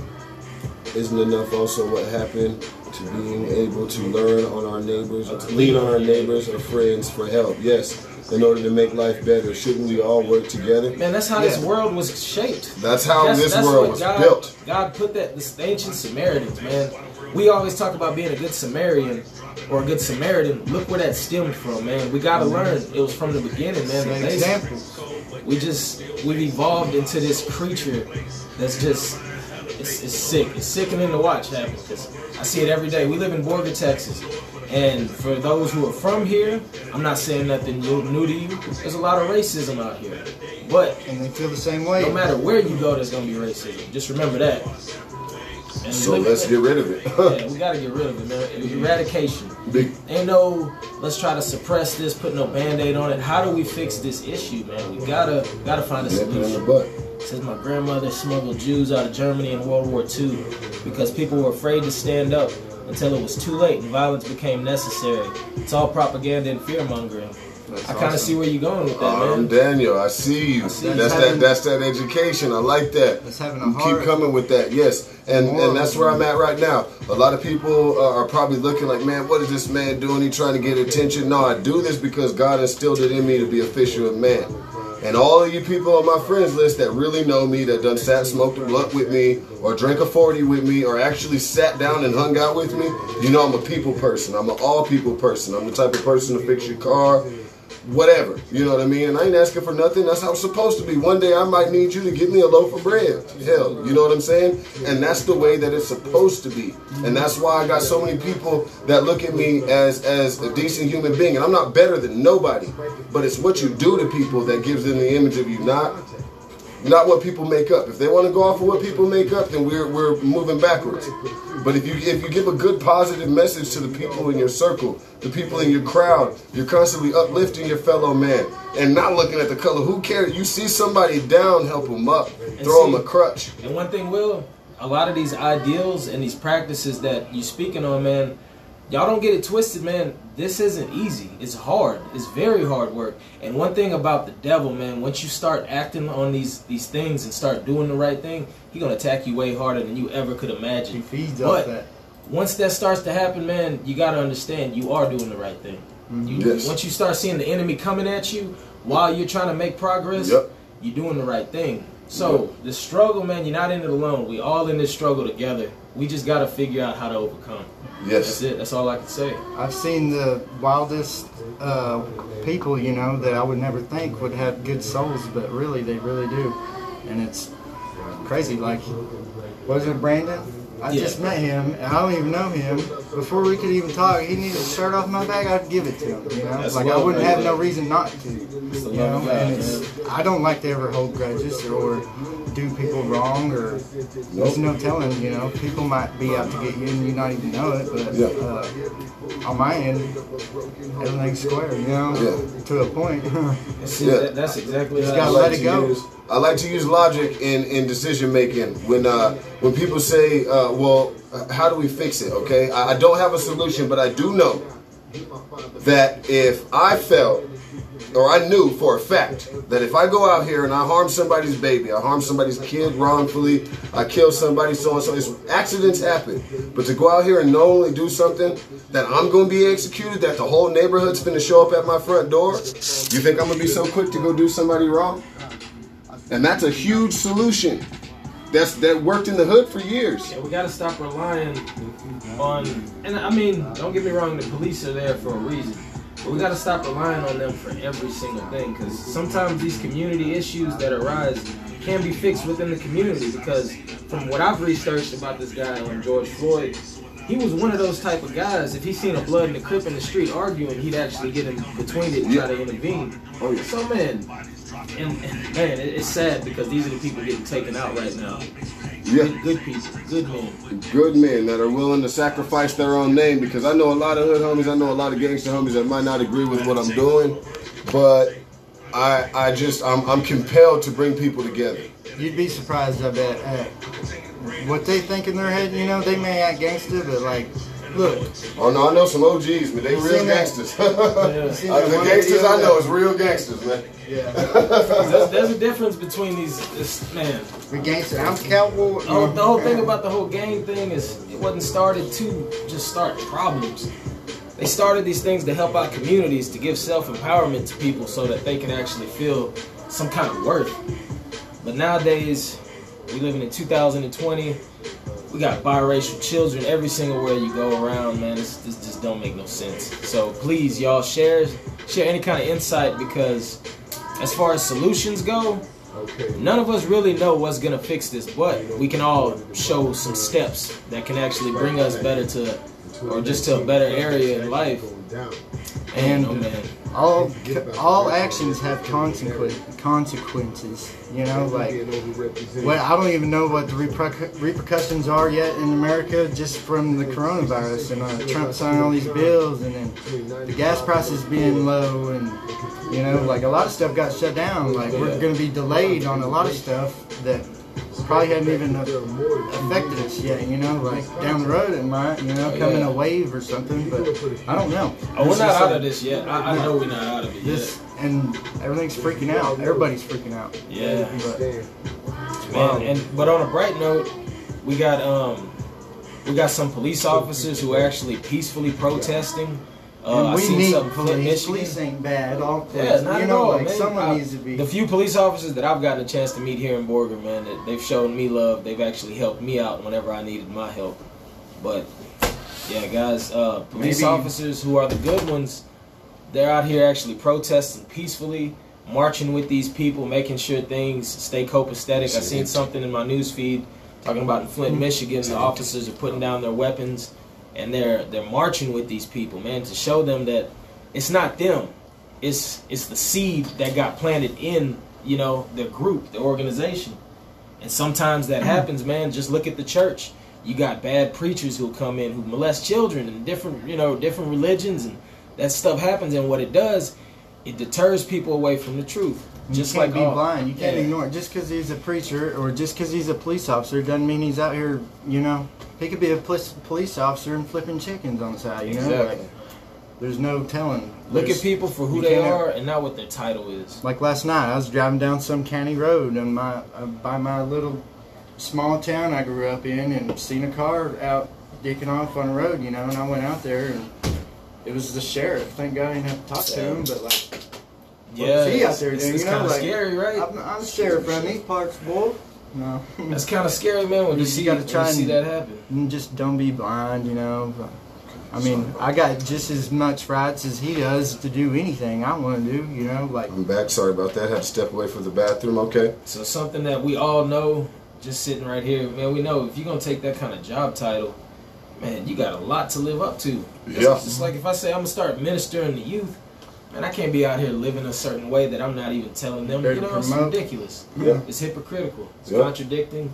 Speaker 1: isn't enough also what happened to being able to learn on our neighbors, or to lean on our neighbors or friends for help? Yes, in order to make life better, shouldn't we all work together?
Speaker 3: Man, that's how yeah. this world was shaped.
Speaker 1: That's how
Speaker 3: that's,
Speaker 1: this
Speaker 3: that's
Speaker 1: world was
Speaker 3: God,
Speaker 1: built.
Speaker 3: God put that, the ancient Samaritans, man. We always talk about being a good Samaritan or a good Samaritan. Look where that stemmed from, man. We gotta learn. It was from the beginning, man.
Speaker 2: An example.
Speaker 3: We just, we've evolved into this creature that's just, it's, it's sick. It's sickening to watch happen, because I see it every day. We live in Borger, Texas. And for those who are from here, I'm not saying nothing new, new to you. There's a lot of racism out here. But,
Speaker 2: and they feel the same way.
Speaker 3: No matter where you go, there's going to be racism. Just remember that.
Speaker 1: And so let's get rid of it.
Speaker 3: Yeah, we gotta get rid of it, man. Eradication. Big. Ain't no, let's try to suppress this, put no band-aid on it. How do we fix this issue, man? We gotta gotta find a solution. It says my grandmother smuggled Jews out of Germany in World War Two because people were afraid to stand up until it was too late and violence became necessary. It's all propaganda and fear-mongering. That's I kind of awesome. See where you're going with that, um,
Speaker 1: man. Daniel, I see you. I see that's that. Having, that's that education. I like that.
Speaker 2: That's having a
Speaker 1: you
Speaker 2: hard,
Speaker 1: keep coming with that. Yes, and and that's where I'm at right now. A lot of people uh, are probably looking like, man, what is this man doing? He trying to get attention? No, I do this because God instilled it in me to be a fisher of man. And all of you people on my friends list that really know me, that done sat, smoked a blunt with me, or drank a forty with me, or actually sat down and hung out with me, you know I'm a people person. I'm an all people person. I'm the type of person to fix your car, whatever, you know what I mean? And I ain't asking for nothing. That's how it's supposed to be. One day I might need you to give me a loaf of bread. Hell, you know what I'm saying? And that's the way that it's supposed to be. And that's why I got so many people that look at me as, as a decent human being. And I'm not better than nobody. But it's what you do to people that gives them the image of you, not not what people make up. If they want to go off of what people make up, then we're we're moving backwards. But if you if you give a good positive message to the people in your circle, the people in your crowd, you're constantly uplifting your fellow man and not looking at the color. Who cares? You see somebody down, help them up, and throw see, them a crutch.
Speaker 3: And one thing, Will, a lot of these ideals and these practices that you're speaking on, man, y'all don't get it twisted, man. This isn't easy. It's hard. It's very hard work. And one thing about the devil, man, once you start acting on these these things and start doing the right thing, he's gonna attack you way harder than you ever could imagine.
Speaker 2: He feeds
Speaker 3: but
Speaker 2: off that.
Speaker 3: Once that starts to happen, man, you gotta understand you are doing the right thing. You,
Speaker 1: Yes.
Speaker 3: Once you start seeing the enemy coming at you while you're trying to make progress,
Speaker 1: Yep.
Speaker 3: you're doing the right thing. So the struggle, man, you're not in it alone. We all in this struggle together. We just got to figure out how to overcome.
Speaker 1: Yes.
Speaker 3: That's it. That's all I can say.
Speaker 2: I've seen the wildest uh, people, you know, that I would never think would have good souls, but really, they really do. And it's crazy. Like, wasn't it Brandon? I
Speaker 3: Yeah.
Speaker 2: just met him, and I don't even know him. Before we could even talk, he needed a shirt off my back, I'd give it to him, you know?
Speaker 3: That's
Speaker 2: Like, I
Speaker 3: love
Speaker 2: wouldn't
Speaker 3: right
Speaker 2: have no
Speaker 3: there.
Speaker 2: reason not to,
Speaker 3: It's the
Speaker 2: you
Speaker 3: love
Speaker 2: know?
Speaker 3: of God,
Speaker 2: And it's, I don't like to ever hold grudges or do people wrong, or there's no telling, you know? People might be out to get you and you not even know it, but
Speaker 1: Yeah.
Speaker 2: uh, on my end, everything's square, you know?
Speaker 1: Yeah.
Speaker 2: To a point.
Speaker 3: See,
Speaker 1: Yeah.
Speaker 3: that, that's exactly
Speaker 2: Just
Speaker 3: how
Speaker 2: gotta
Speaker 3: I
Speaker 2: let
Speaker 3: like
Speaker 2: it
Speaker 3: to
Speaker 2: go.
Speaker 3: use-
Speaker 1: I like to use logic in, in decision making. When uh, when people say, uh, "Well, how do we fix it?" Okay, I, I don't have a solution, but I do know that if I felt, or I knew for a fact, that if I go out here and I harm somebody's baby, I harm somebody's kid wrongfully, I kill somebody, so and so, it's, accidents happen. But to go out here and knowingly do something that I'm going to be executed, that the whole neighborhood's going to show up at my front door, you think I'm going to be so quick to go do somebody wrong? And that's a huge solution. That's that worked in the hood for years.
Speaker 3: Yeah, we got to stop relying on, and I mean, don't get me wrong, the police are there for a reason. But we got to stop relying on them for every single thing, because sometimes these community issues that arise can be fixed within the community. Because from what I've researched about this guy, um, George Floyd, he was one of those type of guys, if he seen a blood and a crip in the street arguing, he'd actually get in between it and try to intervene.
Speaker 1: Oh, yeah.
Speaker 3: So, man, and, and man, it, it's sad because these are the people getting taken out right now.
Speaker 1: Yeah.
Speaker 3: Good, good people, good men.
Speaker 1: Good men that are willing to sacrifice their own name, because I know a lot of hood homies, I know a lot of gangster homies that might not agree with what I'm doing, but I I just I'm I'm compelled to bring people together.
Speaker 2: You'd be surprised, I bet, at what they think in their head. You know, they may act gangster, but like, look,
Speaker 1: Oh no, I know some O Gs, but they
Speaker 2: You
Speaker 1: real
Speaker 2: seen that?
Speaker 1: gangsters.
Speaker 2: you
Speaker 1: Uh,
Speaker 2: seen that
Speaker 1: the
Speaker 2: one
Speaker 1: gangsters
Speaker 2: video
Speaker 1: I know
Speaker 2: that-
Speaker 1: is real gangsters, man.
Speaker 2: Yeah,
Speaker 3: There's, there's a difference between these, this, man.
Speaker 2: the gangster. I'm cowboy.
Speaker 3: The whole, the whole thing about the whole gang thing is it wasn't started to just start problems. They started these things to help out communities, to give self-empowerment to people so that they can actually feel some kind of worth. But nowadays, we living in two thousand twenty. We got biracial children every single where you go around, man. This, this just don't make no sense. So please, y'all, share share any kind of insight, because as far as solutions go, none of us really know what's gonna fix this, but we can all show some steps that can actually bring us better to, or just to a better area in life. And oh man,
Speaker 2: all all actions have consequences. Consequences, you know, like. Well, I don't even know what the repercu- repercussions are yet in America, just from the coronavirus and uh, Trump signing all these bills, and then the gas prices being low, and you know, like a lot of stuff got shut down. Like we're going to be delayed on a lot of stuff that probably hadn't even affected us yet. You know, like down the road it might, you know, come in a wave or something. But I don't know.
Speaker 3: oh, we're
Speaker 2: This
Speaker 3: not
Speaker 2: is
Speaker 3: out
Speaker 2: a-
Speaker 3: of this yet. I, I know we're not out of it
Speaker 2: This
Speaker 3: yet.
Speaker 2: and everything's freaking out. Everybody's freaking out.
Speaker 3: Yeah.
Speaker 2: But
Speaker 3: Man, and but on a bright note, we got um we got some police officers who are actually peacefully protesting. Uh,
Speaker 2: and
Speaker 3: I
Speaker 2: we
Speaker 3: seen
Speaker 2: need
Speaker 3: something in Flint,
Speaker 2: police.
Speaker 3: Michigan.
Speaker 2: Police ain't bad. All
Speaker 3: Yeah, not
Speaker 2: you
Speaker 3: at
Speaker 2: know,
Speaker 3: all,
Speaker 2: like
Speaker 3: man.
Speaker 2: someone
Speaker 3: I-
Speaker 2: needs to be.
Speaker 3: The few police officers that I've gotten a chance to meet here in Borger, man, that they've shown me love. They've actually helped me out whenever I needed my help. But yeah, guys, uh, police
Speaker 2: Maybe-
Speaker 3: officers who are the good ones, they're out here actually protesting peacefully, marching with these people, making sure things stay copacetic. I seen something in my news feed talking about in Flint, Michigan, the officers are putting down their weapons and they're they're marching with these people, man, to show them that it's not them. It's it's the seed that got planted in, you know, the group, the organization. And sometimes that happens, man. Just look at the church. You got bad preachers who'll come in who molest children and different, you know, different religions, and that stuff happens. And what it does, it deters people away from the truth. Just
Speaker 2: you can't
Speaker 3: like
Speaker 2: be
Speaker 3: all,
Speaker 2: blind. You can't
Speaker 3: yeah.
Speaker 2: ignore it. Just because he's a preacher or just because he's a police officer doesn't mean he's out here, you know. He could be a police, police officer and flipping chickens on the side, you know.
Speaker 3: Exactly.
Speaker 2: Like, there's no telling.
Speaker 3: Look
Speaker 2: There's,
Speaker 3: at people for who
Speaker 2: you
Speaker 3: they
Speaker 2: can't-
Speaker 3: are and not what their title is.
Speaker 2: Like last night, I was driving down some county road in my uh, by my little small town I grew up in, and seen a car out dicking off on the road, you know. And I went out there, and it was the sheriff. Thank God I didn't have to talk to him, but like.
Speaker 3: Yeah,
Speaker 2: What was he out
Speaker 3: it's,
Speaker 2: there
Speaker 3: it's,
Speaker 2: doing?
Speaker 3: it's
Speaker 2: You know,
Speaker 3: kind of
Speaker 2: like,
Speaker 3: scary, right?
Speaker 2: I'm, I'm sheriff around these parts, boy. No.
Speaker 3: That's kind of scary, man. When you,
Speaker 2: You
Speaker 3: see,
Speaker 2: gotta
Speaker 3: when
Speaker 2: try
Speaker 3: you see
Speaker 2: and-
Speaker 3: that happen.
Speaker 2: And just don't be blind, you know. I mean, I got just as much rights as he does to do anything I want to do, you know. Like,
Speaker 1: I'm back. Sorry about that. Had to step away from the bathroom. Okay.
Speaker 3: So something that we all know, just sitting right here, man. We know if you're gonna take that kind of job title, man, you got a lot to live up to. It's
Speaker 1: Yeah.
Speaker 3: just like if I say I'm gonna start ministering to youth. Man, I can't be out here living a certain way that I'm not even telling them.
Speaker 2: There
Speaker 3: You
Speaker 2: to
Speaker 3: know, it's
Speaker 2: promote.
Speaker 3: ridiculous.
Speaker 1: Yeah.
Speaker 3: It's hypocritical. It's
Speaker 1: Yeah.
Speaker 3: contradicting,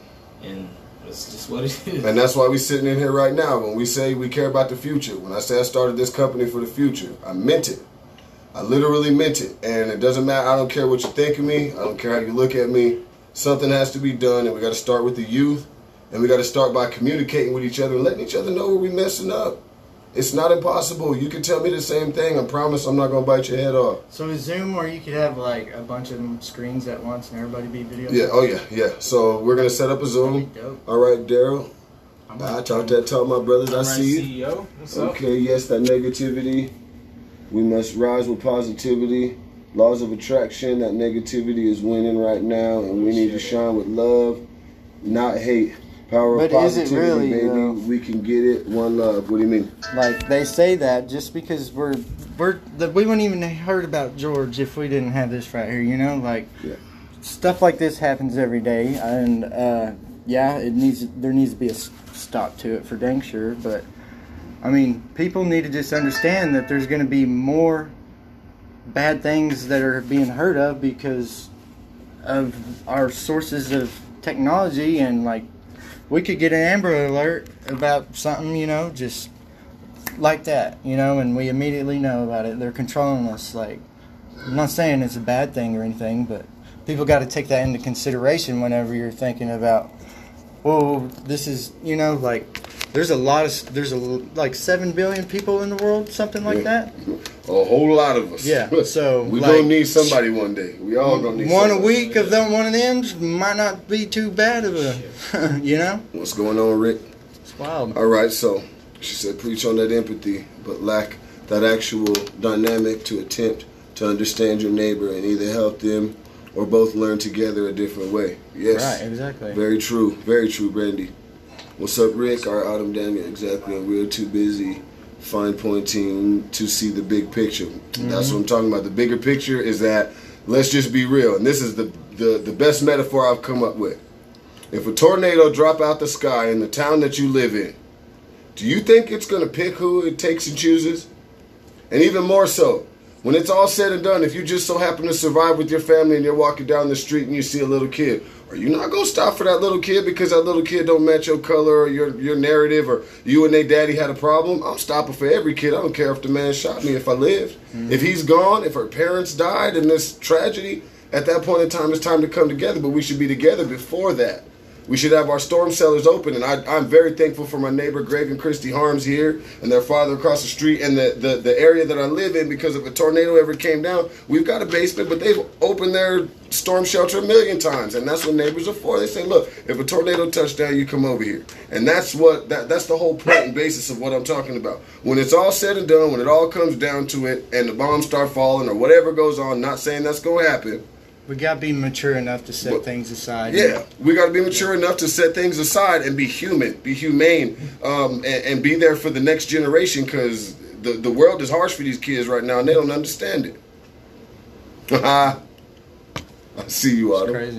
Speaker 3: and it's just what it is.
Speaker 1: And that's why we sitting in here right now. When we say we care about the future, when I say I started this company for the future, I meant it. I literally meant it. And it doesn't matter. I don't care what you think of me. I don't care how you look at me. Something has to be done, and we got to start with the youth, and we got to start by communicating with each other and letting each other know where we messing up. It's not impossible. You can tell me the same thing. I promise I'm not going to bite your head off.
Speaker 2: so is Zoom where you could have like a bunch of them screens at once and everybody be video?
Speaker 1: Yeah, oh yeah, yeah. So we're going to set up a Zoom.
Speaker 2: That'd be dope.
Speaker 1: All right, Daryl.
Speaker 2: I'm
Speaker 1: I
Speaker 2: gonna-
Speaker 1: talked that talk, my brothers. I
Speaker 3: All right,
Speaker 1: see you.
Speaker 3: C E O. What's up?
Speaker 1: Okay, yes, that negativity. We must rise with positivity. Laws of attraction, that negativity is winning right now, and we need to shine with love, not hate. Power of
Speaker 2: But is it
Speaker 1: positivity,
Speaker 2: really,
Speaker 1: baby.
Speaker 2: though?
Speaker 1: We can get it. One love. What do you mean?
Speaker 2: Like they say that just because we're we're the, we wouldn't even have heard about George if we didn't have this right here, you know. Like
Speaker 1: Yeah.
Speaker 2: stuff like this happens every day, and uh, yeah, it needs there needs to be a s- stop to it for dang sure. But I mean, people need to just understand that there's going to be more bad things that are being heard of because of our sources of technology, and like we could get an Amber Alert about something, you know, just like that, you know, and we immediately know about it. They're controlling us. Like, I'm not saying it's a bad thing or anything, but people got to take that into consideration whenever you're thinking about, oh, this is, you know, like, there's a lot of, there's a, like seven billion people in the world, something like
Speaker 1: Yeah.
Speaker 2: that.
Speaker 1: A whole lot of us.
Speaker 2: Yeah, so,
Speaker 1: we
Speaker 2: like,
Speaker 1: gonna need somebody one day. We all gonna need
Speaker 2: One a
Speaker 1: somebody.
Speaker 2: week of them, one of them might not be too bad of a, you know?
Speaker 1: What's going on, Rick?
Speaker 2: It's wild.
Speaker 1: All right, so she said, preach on that empathy, but lack that actual dynamic to attempt to understand your neighbor and either help them or both learn together a different way. Yes.
Speaker 2: Right, exactly.
Speaker 1: Very true. Very true, Brandy. What's up, Rick? Our Autumn Daniel. Exactly. We're too busy fine pointing to see the big picture. Mm-hmm. That's what I'm talking about. The bigger picture is that, let's just be real. And this is the, the, the best metaphor I've come up with. If a tornado drop out the sky in the town that you live in, do you think it's going to pick who it takes and chooses? And even more so, when it's all said and done, if you just so happen to survive with your family and you're walking down the street and you see a little kid, are you not going to stop for that little kid because that little kid don't match your color or your, your narrative, or you and their daddy had a problem? I'm stopping for every kid. I don't care if the man shot me if I lived. Mm-hmm. If he's gone, if her parents died in this tragedy, at that point in time, it's time to come together. But we should be together before that. We should have our storm cellars open, and I, I'm very thankful for my neighbor Greg and Christy Harms here and their father across the street and the, the, the area that I live in, because if a tornado ever came down, we've got a basement, but they've opened their storm shelter a million times, and that's what neighbors are for. They say, look, if a tornado touched down, you come over here. And that's what that, that's the whole point and basis of what I'm talking about. When it's all said and done, when it all comes down to it, and the bombs start falling or whatever goes on, not saying that's going to happen,
Speaker 2: We got to be mature enough to set
Speaker 1: But-
Speaker 2: things aside.
Speaker 1: yeah, we got to be mature enough to set things aside and be human, be humane, um, and, and be there for the next generation, because the, the world is harsh for these kids right now, and they don't understand it. I see you,
Speaker 2: It's
Speaker 1: Otto.
Speaker 2: crazy.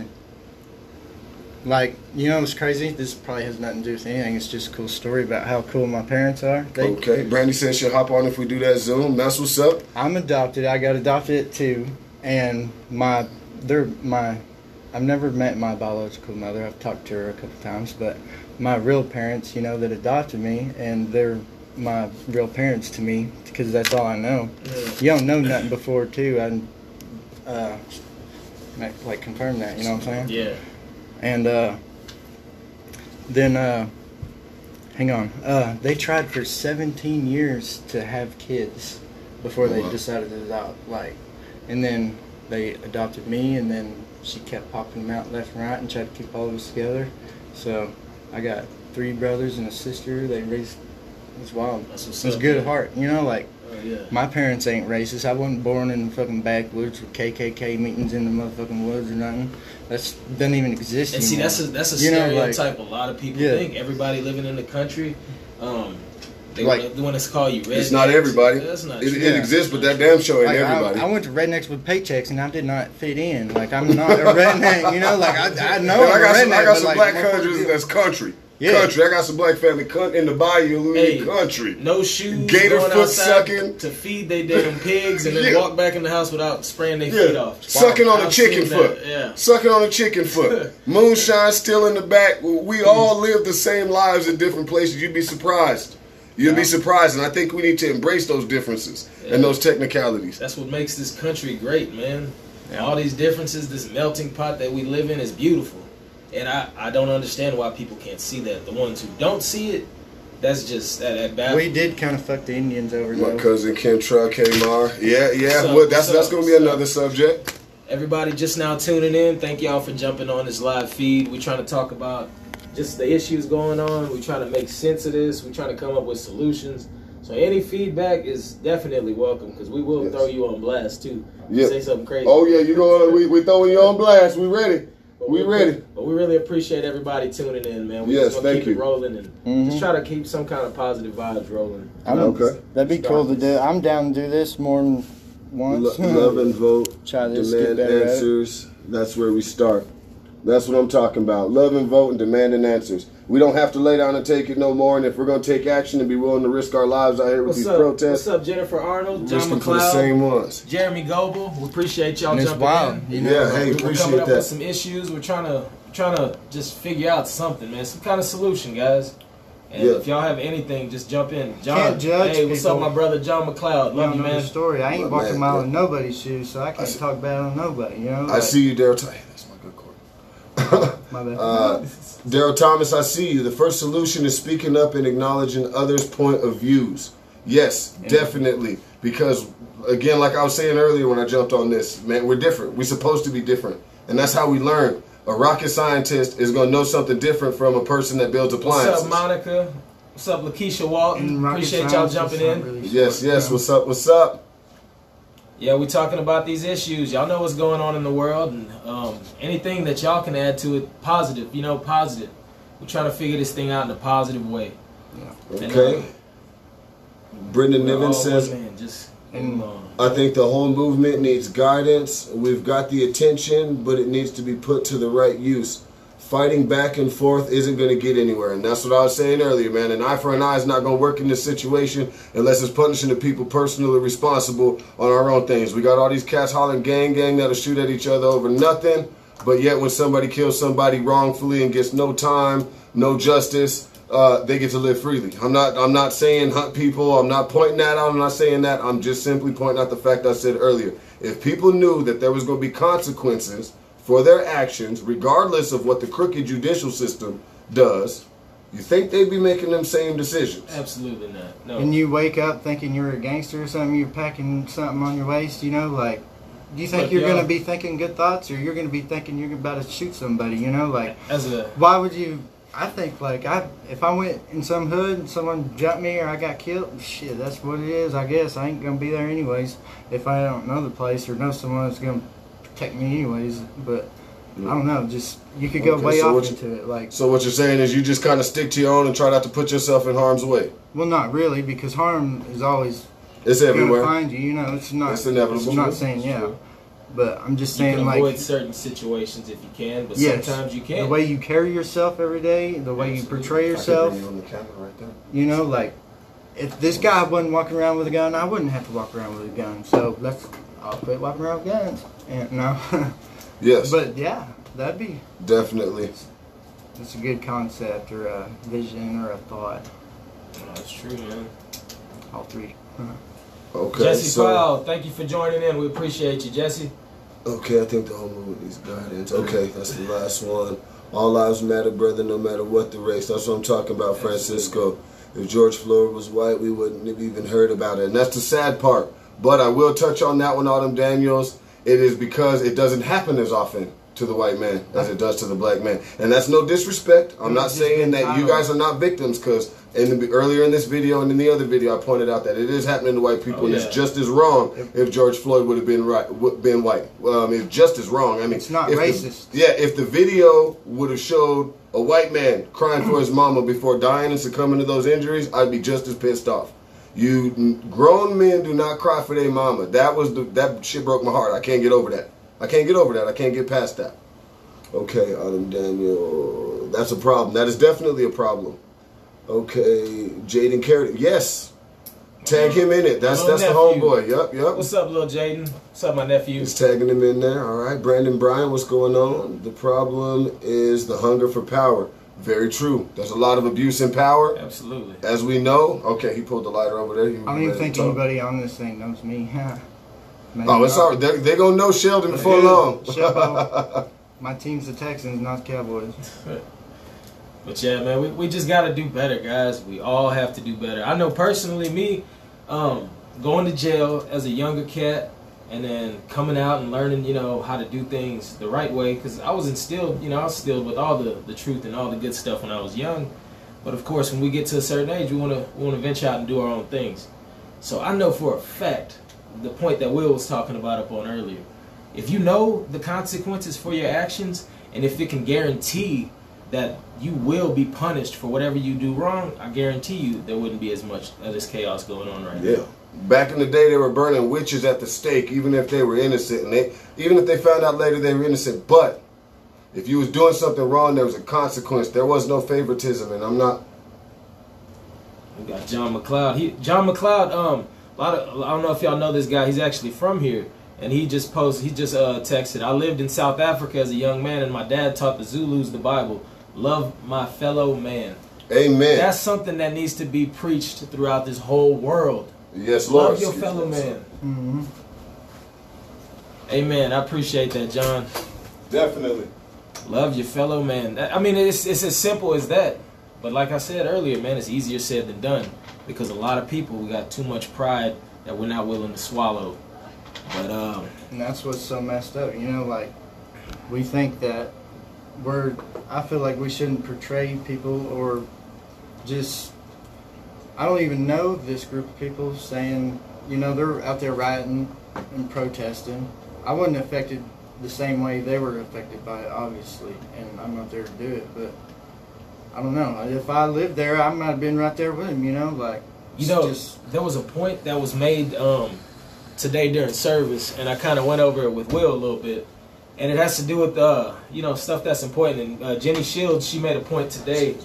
Speaker 2: Like, you know what's crazy? This probably has nothing to do with anything. It's just a cool story about how cool my parents are. They,
Speaker 1: Okay, Brandy said she'll hop on if we do that Zoom. That's what's up.
Speaker 2: I'm adopted. I got adopted too. And my, they're my, I've never met my biological mother. I've talked to her a couple times, but my real parents, you know, that adopted me, and they're my real parents to me, because that's all I know.
Speaker 3: Yeah.
Speaker 2: You don't know nothing before too. I uh, like confirm that. You know what I'm saying?
Speaker 3: Yeah.
Speaker 2: And uh, then, uh, hang on. Uh, they tried for seventeen years to have kids before they
Speaker 1: Wow.
Speaker 2: decided to adopt. Like, and then they adopted me, and then she kept popping them out left and right and tried to keep all of us together. So I got three brothers and a sister. They raised. It's wild.
Speaker 3: That's what's
Speaker 2: It's
Speaker 3: up,
Speaker 2: good
Speaker 3: man.
Speaker 2: heart. You know, like.
Speaker 3: Oh, yeah.
Speaker 2: My parents ain't racist. I wasn't born in the fucking backwoods with K K K meetings in the motherfucking woods or nothing. That's doesn't even exist
Speaker 3: And see,
Speaker 2: anymore.
Speaker 3: that's a that's a
Speaker 2: You know, like-
Speaker 3: stereotype a lot of people
Speaker 2: Yeah.
Speaker 3: think. Everybody living in the country, um, they
Speaker 2: Like-
Speaker 3: want, they want to call you rednecks.
Speaker 1: It's not everybody.
Speaker 3: That's not
Speaker 1: It,
Speaker 3: true.
Speaker 1: it exists, but that damn show ain't
Speaker 2: Like,
Speaker 1: everybody.
Speaker 2: I, I went to rednecks with paychecks and I did not fit in. Like, I'm not a redneck, you know. Like, I, I know
Speaker 1: And I
Speaker 2: I'm
Speaker 1: got
Speaker 2: a
Speaker 1: some,
Speaker 2: redneck,
Speaker 1: I got
Speaker 2: but,
Speaker 1: some
Speaker 2: like,
Speaker 1: black
Speaker 2: motherfucker
Speaker 1: countries
Speaker 2: did-
Speaker 1: that's country.
Speaker 2: Yeah.
Speaker 1: Country. I got some black family cunt in the bayou, Louis
Speaker 3: Hey,
Speaker 1: country.
Speaker 3: No shoes,
Speaker 1: Gator
Speaker 3: going
Speaker 1: foot
Speaker 3: outside
Speaker 1: sucking.
Speaker 3: to feed they damn pigs, and then
Speaker 1: Yeah.
Speaker 3: walk back in the house without spraying their feet
Speaker 1: Yeah,
Speaker 3: off.
Speaker 1: sucking on a
Speaker 3: I've
Speaker 1: chicken
Speaker 3: seen
Speaker 1: foot.
Speaker 3: that, yeah.
Speaker 1: Sucking on a chicken foot. Moonshine still in the back. We all live the same lives in different places. You'd be surprised. You'd be surprised, and I think we need to embrace those differences and those technicalities.
Speaker 3: That's what makes this country great, man.
Speaker 2: Yeah.
Speaker 3: All these differences, this melting pot that we live in is beautiful. And I, I don't understand why people can't see that. The ones who don't see it, that's just that, that bad.
Speaker 2: We did kind of fuck the Indians over,
Speaker 1: My
Speaker 2: though.
Speaker 1: cousin Kentra Kmar. Yeah, yeah.
Speaker 3: Sup,
Speaker 1: Well, that's
Speaker 3: sup,
Speaker 1: that's going to be
Speaker 3: sup.
Speaker 1: another subject.
Speaker 3: Everybody just now tuning in, thank y'all for jumping on this live feed. We're trying to talk about just the issues going on. We're trying to make sense of this. We're trying to come up with solutions. So any feedback is definitely welcome, because we will
Speaker 1: Yes.
Speaker 3: throw you on blast too.
Speaker 1: Yeah.
Speaker 3: Say something crazy.
Speaker 1: Oh yeah, you know we we throwing you on blast. We ready.
Speaker 3: But
Speaker 1: We ready.
Speaker 3: But we really appreciate everybody tuning in, man. We
Speaker 1: Yes,
Speaker 3: just gonna
Speaker 1: thank
Speaker 3: keep it
Speaker 1: you.
Speaker 3: rolling and
Speaker 2: Mhm.
Speaker 3: just try to keep some kind of positive vibes rolling.
Speaker 2: I'm,
Speaker 1: Okay.
Speaker 2: That'd be cool to do. I'm down to do this more than once.
Speaker 1: Lo- love and vote.
Speaker 2: Try this, get
Speaker 1: Demand
Speaker 2: better at it.
Speaker 1: answers. That's where we start. That's what I'm talking about. Love and vote and demanding answers. We don't have to lay down and take it no more. And if we're gonna take action and be willing to risk our lives out here with
Speaker 3: What's
Speaker 1: these
Speaker 3: up?
Speaker 1: protests,
Speaker 3: What's up, Jennifer Arnold, John
Speaker 1: risking for the
Speaker 3: McLeod,
Speaker 1: same ones.
Speaker 3: Jeremy Goebel? We appreciate y'all
Speaker 2: And it's
Speaker 3: jumping
Speaker 2: wild,
Speaker 3: in.
Speaker 2: you know.
Speaker 1: Yeah, hey,
Speaker 3: We're coming
Speaker 1: appreciate
Speaker 3: up with
Speaker 1: that.
Speaker 3: some issues. We're trying to trying to just figure out something, man. Some kind of solution, guys. And
Speaker 1: Yeah.
Speaker 3: if y'all have anything, just jump in. John,
Speaker 2: Can't judge
Speaker 3: hey, what's
Speaker 2: people.
Speaker 3: up, my brother John McLeod?
Speaker 2: You
Speaker 3: Love
Speaker 2: don't
Speaker 3: you,
Speaker 2: know the
Speaker 3: man.
Speaker 2: story. I ain't
Speaker 1: Look,
Speaker 2: walking
Speaker 1: man,
Speaker 2: a mile
Speaker 1: yeah.
Speaker 2: in nobody's shoes, so I can't
Speaker 1: see-
Speaker 2: talk bad on nobody, you know?
Speaker 1: I
Speaker 2: Like,
Speaker 1: see you, Daryl. Hey, that's my good court.
Speaker 2: My bad.
Speaker 1: Uh, Daryl Thomas, I see you. The first solution is speaking up and acknowledging others' point of views. Yes, definitely. Because, again, like I was saying earlier when I jumped on this, man, we're different. We're supposed to be different. And that's how we learn. A rocket scientist is going to know something different from a person that builds
Speaker 3: What's
Speaker 1: appliances.
Speaker 3: up, Monica? What's up, Lakeisha Walton?
Speaker 2: And rocket
Speaker 3: Appreciate y'all
Speaker 2: science is
Speaker 3: jumping
Speaker 2: not
Speaker 3: in.
Speaker 2: really
Speaker 1: Yes,
Speaker 2: smart,
Speaker 1: yes.
Speaker 2: you know?
Speaker 1: What's up? What's up?
Speaker 3: Yeah, we talking about these issues. Y'all know what's going on in the world, and um, anything that y'all can add to it, positive. You know, positive. We're trying to figure this thing out in a positive way. And,
Speaker 1: Okay.
Speaker 3: uh,
Speaker 1: Brendan
Speaker 3: we're all
Speaker 1: Niven says,
Speaker 3: one man, just
Speaker 2: And-
Speaker 3: move on.
Speaker 1: I think the whole movement needs guidance. We've got the attention, but it needs to be put to the right use. Fighting back and forth isn't going to get anywhere. And that's what I was saying earlier, man. An eye for an eye is not going to work in this situation unless it's punishing the people personally responsible on our own things. We got all these cats hollering gang gang that'll shoot at each other over nothing. But yet when somebody kills somebody wrongfully and gets no time, no justice, uh, they get to live freely. I'm not I'm not saying hunt people. I'm not pointing that out. I'm not saying that. I'm just simply pointing out the fact I said earlier. If people knew that there was going to be consequences for their actions, regardless of what the crooked judicial system does, you think they'd be making them same decisions?
Speaker 3: Absolutely not. No.
Speaker 2: And you wake up thinking you're a gangster or something, you're packing something on your waist, you know, like, do you think
Speaker 3: Look,
Speaker 2: you're
Speaker 3: y'all-
Speaker 2: going to be thinking good thoughts, or you're going to be thinking you're about to shoot somebody, you know, like,
Speaker 3: As a
Speaker 2: why would you, I think, like, I if I went in some hood and someone jumped me or I got killed, shit, that's what it is, I guess. I ain't going to be there anyways if I don't know the place or know someone that's going to protect me anyways, but I don't know, just, you could go
Speaker 1: Okay,
Speaker 2: way
Speaker 1: so
Speaker 2: off
Speaker 1: what you-
Speaker 2: into it, like,
Speaker 1: So what you're saying is you just kind of stick to your own and try not to put yourself in harm's way.
Speaker 2: well, not really, because harm is always
Speaker 1: It's
Speaker 2: going to
Speaker 1: everywhere.
Speaker 2: find you, you know, it's not,
Speaker 1: It's inevitable.
Speaker 2: I'm not saying, yeah, but I'm just
Speaker 3: you
Speaker 2: saying,
Speaker 3: can
Speaker 2: like,
Speaker 3: avoid certain situations if you can, but
Speaker 2: yes,
Speaker 3: sometimes you
Speaker 2: the
Speaker 3: can't.
Speaker 2: way you carry yourself every day, the way you
Speaker 3: Absolutely.
Speaker 2: portray
Speaker 1: I can
Speaker 2: yourself,
Speaker 1: bring you on the camera right there.
Speaker 2: you know, like, if this guy wasn't walking around with a gun, I wouldn't have to walk around with a gun, so let's, I'll quit walking around with guns, and no,
Speaker 1: Yes,
Speaker 2: but yeah, that'd be,
Speaker 1: definitely.
Speaker 2: it's a good concept, or a vision, or a thought.
Speaker 3: No, that's true, man.
Speaker 2: all three.
Speaker 1: Okay,
Speaker 3: Jesse
Speaker 1: so,
Speaker 3: Powell, thank you for joining in. We appreciate you, Jesse.
Speaker 1: Okay, I think the whole movie needs guidance. Okay, that's the last one. All lives matter, brother, no matter what the race. That's what I'm talking about, Francisco. If George Floyd was white, we wouldn't have even heard about it. And that's the sad part. But I will touch on that one, Autumn Daniels. It is because it doesn't happen as often to the white man as it does to the black man. And that's no disrespect. I'm not saying that you guys are not victims, because in the, earlier in this video and in the other video, I pointed out that it is happening to white people,
Speaker 3: oh,
Speaker 1: and
Speaker 3: yeah.
Speaker 1: it's just as wrong if George Floyd would have been right, been white. Um, it's just as wrong. I mean,
Speaker 2: it's not
Speaker 1: if
Speaker 2: racist.
Speaker 1: The, yeah, if the video would have showed a white man crying for his mama before dying and succumbing to those injuries, I'd be just as pissed off. You grown men do not cry for their mama. That was the that shit broke my heart. I can't get over that. I can't get over that. I can't get past that. Okay, Autumn Daniel, that's a problem. That is definitely a problem. Okay, Jaden Carrot, yes. Tag him in it. That's
Speaker 3: Little
Speaker 1: that's
Speaker 3: nephew.
Speaker 1: the homeboy. Yup, yup.
Speaker 3: What's up, little Jaden? What's up, my nephew?
Speaker 1: He's tagging him in there. All right, Brandon Bryan, what's going on? The problem is the hunger for power. Very true. There's a lot of abuse in power.
Speaker 3: Absolutely.
Speaker 1: As we know. Okay, he pulled the lighter over there. He
Speaker 2: I don't even think anybody on this thing knows me. Maybe
Speaker 1: oh, it's
Speaker 2: not.
Speaker 1: all right. They're, they're going to know Sheldon before
Speaker 2: Dude,
Speaker 1: long.
Speaker 2: Shelbo, my team's the Texans, not the Cowboys.
Speaker 3: But yeah, man, we, we just got to do better, guys. We all have to do better. I know personally, me, um, going to jail as a younger cat and then coming out and learning, you know, how to do things the right way. Because I was instilled, you know, I was instilled with all the, the truth and all the good stuff when I was young. But of course, when we get to a certain age, we want to we want to venture out and do our own things. So I know for a fact, the point that Will was talking about up on earlier, if you know the consequences for your actions, and if it can guarantee that you will be punished for whatever you do wrong, I guarantee you there wouldn't be as much of this chaos going on right
Speaker 1: yeah.
Speaker 3: now.
Speaker 1: Back in the day, they were burning witches at the stake, even if they were innocent, and they even if they found out later they were innocent. But if you was doing something wrong, there was a consequence. There was no favoritism, and I'm not.
Speaker 3: We got John McLeod. He John McLeod. Um, a lot of I don't know if y'all know this guy. He's actually from here, and he just posted. He just uh texted. I lived in South Africa as a young man, and my dad taught the Zulus the Bible. Love my fellow man.
Speaker 1: Amen.
Speaker 3: That's something that needs to be preached throughout this whole world.
Speaker 1: Yes, Lord.
Speaker 3: Love your fellow man.
Speaker 2: Mm-hmm.
Speaker 3: Amen. I appreciate that, John.
Speaker 1: Definitely.
Speaker 3: Love your fellow man. I mean, it's it's as simple as that. But like I said earlier, man, it's easier said than done, because a lot of people, we got too much pride that we're not willing to swallow. But um,
Speaker 2: and that's what's so messed up. You know, like we think that we're. I feel like we shouldn't portray people or just. I don't even know this group of people saying, you know, they're out there rioting and protesting. I wasn't affected the same way they were affected by it, obviously, and I'm not there to do it. But I don't know. If I lived there, I might have been right there with him. You know, like
Speaker 3: you know,
Speaker 2: just,
Speaker 3: there was a point that was made um, today during service, and I kind of went over it with Will a little bit, and it has to do with uh, you know, stuff that's important. And uh, Jenny Shields, she made a point today.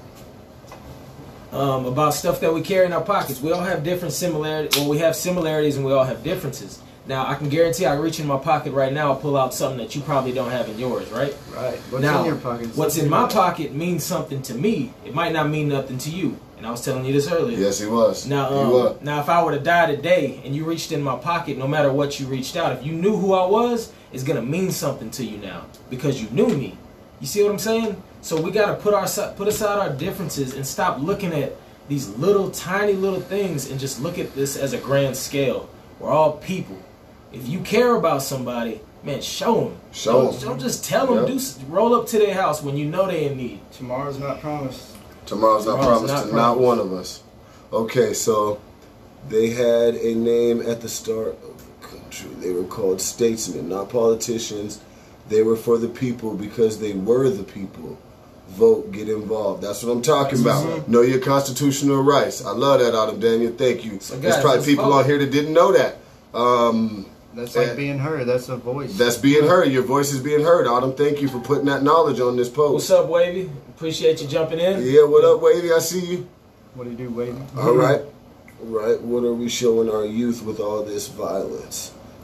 Speaker 3: Um, about stuff that we carry in our pockets. We all have different similarities. Well, we have similarities and we all have differences. Now, I can guarantee I reach in my pocket right now, I'll pull out something that you probably don't have in yours, right?
Speaker 2: right. What's
Speaker 3: now,
Speaker 2: in your pocket?
Speaker 3: What's in my pocket means something to me. It might not mean nothing to you. And I was telling you this earlier.
Speaker 1: Yes, he was.
Speaker 3: Now,
Speaker 1: he
Speaker 3: um,
Speaker 1: was.
Speaker 3: now, if I were to die today and you reached in my pocket, no matter what you reached out, if you knew who I was, it's going to mean something to you now because you knew me. You see what I'm saying? So we got to put our put aside our differences and stop looking at these little tiny little things and just look at this as a grand scale. We're all people. If you care about somebody, man, show them.
Speaker 1: Show
Speaker 3: don't,
Speaker 1: them.
Speaker 3: Don't just tell them.
Speaker 1: Yep.
Speaker 3: Do roll up to their house when you know they in need.
Speaker 2: Tomorrow's not promised.
Speaker 1: Tomorrow's not
Speaker 3: Tomorrow's
Speaker 1: promised
Speaker 3: not
Speaker 1: to
Speaker 3: promised.
Speaker 1: not one of us. Okay, so they had a name at the start of the country. They were called statesmen, not politicians. They were for the people because they were the people. Vote, get involved. That's what I'm talking about.
Speaker 3: Mm-hmm.
Speaker 1: Know your constitutional rights. I love that, Autumn Daniel. Thank you.
Speaker 3: So guys,
Speaker 1: There's probably
Speaker 3: let's
Speaker 1: people
Speaker 3: vote.
Speaker 1: on here that didn't know that. Um,
Speaker 2: That's like
Speaker 1: and
Speaker 2: being heard. That's a voice.
Speaker 1: that's being heard. Your voice is being heard, Autumn. Thank you for putting that knowledge on this post.
Speaker 3: What's up, Wavy? Appreciate you jumping in.
Speaker 1: Yeah, what up, Wavy? I see you.
Speaker 2: What do you do, Wade?
Speaker 1: All right. All right. What are we showing our youth with all this violence?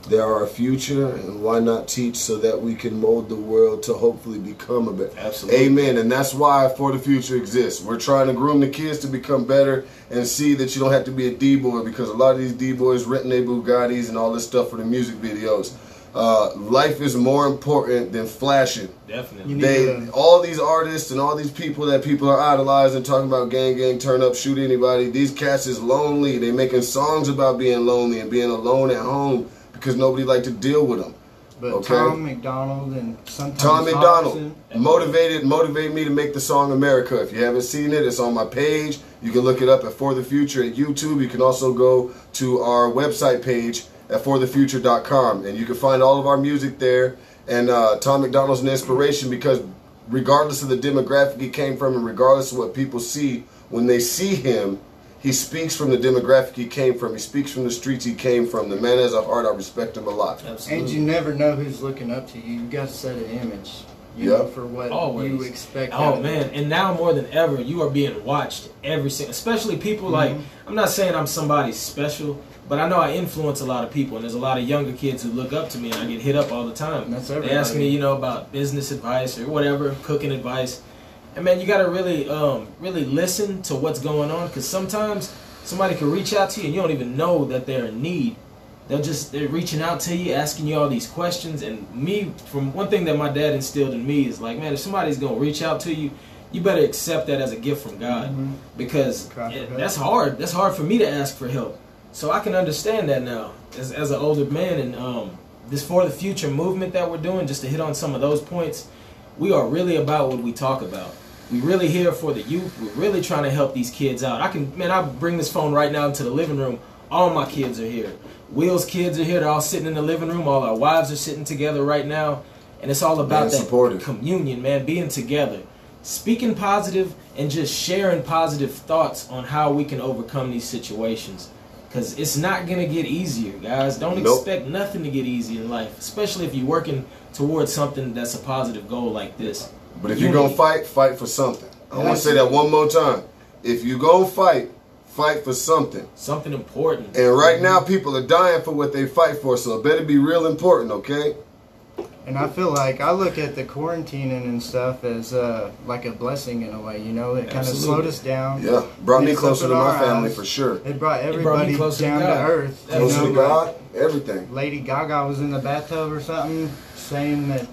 Speaker 1: They are our future, and why not teach so that we can mold the world to hopefully become a better?
Speaker 3: Absolutely.
Speaker 1: Amen. And that's why For the Future exists. We're trying to groom the kids to become better and see that you don't have to be a D-boy, because a lot of these D-boys renting their Bugattis and all this stuff for the music videos. Uh, life is more important than flashing.
Speaker 3: Definitely.
Speaker 1: They,
Speaker 2: to,
Speaker 1: all these artists and all these people that people are idolizing, talking about gang, gang, turn up, shoot anybody. These cats is lonely. They making songs about being lonely and being alone at home because nobody like to deal with them.
Speaker 2: But
Speaker 1: okay?
Speaker 2: Tom McDonald and sometimes
Speaker 1: Tom McDonald
Speaker 2: Hobson,
Speaker 1: motivated motivated me to make the song America. If you haven't seen it, it's on my page. You can look it up at For the Future at YouTube. You can also go to our website page at for the future dot com, and you can find all of our music there. And uh, Tom McDonald's an inspiration because regardless of the demographic he came from and regardless of what people see, when they see him, he speaks from the demographic he came from. He speaks from the streets he came from. The man has a heart. I respect him a lot.
Speaker 3: Absolutely.
Speaker 2: and you never know who's looking up to you. You got to set an image, you
Speaker 1: Yep.
Speaker 2: know, for what
Speaker 3: Always.
Speaker 2: you expect.
Speaker 3: Oh
Speaker 2: out of
Speaker 3: man,
Speaker 2: it.
Speaker 3: and now more than ever, you are being watched every single. Especially people like, I'm not saying I'm somebody special, but I know I influence a lot of people, and there's a lot of younger kids who look up to me, and I get hit up all the time.
Speaker 2: That's
Speaker 3: They ask
Speaker 2: everybody.
Speaker 3: me, you know, about business advice or whatever, cooking advice, and man, you got to really, um, really listen to what's going on, because sometimes somebody can reach out to you and you don't even know that they're in need. They'll just, they're reaching out to you, asking you all these questions. And me, from one thing that my dad instilled in me is like, man, if somebody's going to reach out to you, you better accept that as a gift from God.
Speaker 2: Mhm.
Speaker 3: Because
Speaker 2: Cry for
Speaker 3: it-
Speaker 2: help.
Speaker 3: that's hard. That's hard for me to ask for help. So I can understand that now as, as an older man. And um, this For the Future movement that we're doing, just to hit on some of those points, we are really about what we talk about. We really here for the youth. We're really trying to help these kids out. I can, man, I bring this phone right now into the living room. All my kids are here. Will's kids are here. They're all sitting in the living room. All our wives are sitting together right now. And it's all about
Speaker 1: Man,
Speaker 3: that
Speaker 1: supportive.
Speaker 3: communion, man, being together. Speaking positive and just sharing positive thoughts on how we can overcome these situations. Because it's not going to get easier, guys. Don't
Speaker 1: Nope.
Speaker 3: expect nothing to get easy in life, especially if you're working towards something that's a positive goal like this.
Speaker 1: But if you're going to fight, fight for something. I want to
Speaker 2: That's
Speaker 1: say that one more time. If you're going to fight, fight for something.
Speaker 3: Something important.
Speaker 1: And right now, people are dying for what they fight for, so it better be real important, okay?
Speaker 2: And I feel like I look at the quarantining and stuff as uh, like a blessing in a way, you know. It kind of
Speaker 3: Absolutely.
Speaker 2: slowed us down.
Speaker 1: Yeah, brought me
Speaker 2: It's
Speaker 1: closer to
Speaker 2: opened
Speaker 1: my
Speaker 2: our
Speaker 1: family
Speaker 2: eyes.
Speaker 1: for sure.
Speaker 2: It brought
Speaker 3: It brought me
Speaker 2: everybody
Speaker 3: closer to
Speaker 2: down to,
Speaker 3: God.
Speaker 2: earth. you
Speaker 1: Closer
Speaker 2: know,
Speaker 1: to
Speaker 2: like
Speaker 1: God, everything.
Speaker 2: Lady Gaga was in the bathtub or something, saying that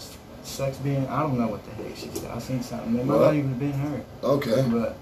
Speaker 2: sex being, I don't know what the heck she said. I seen something. It might
Speaker 1: What?
Speaker 2: not even have been her.
Speaker 1: Okay.
Speaker 2: But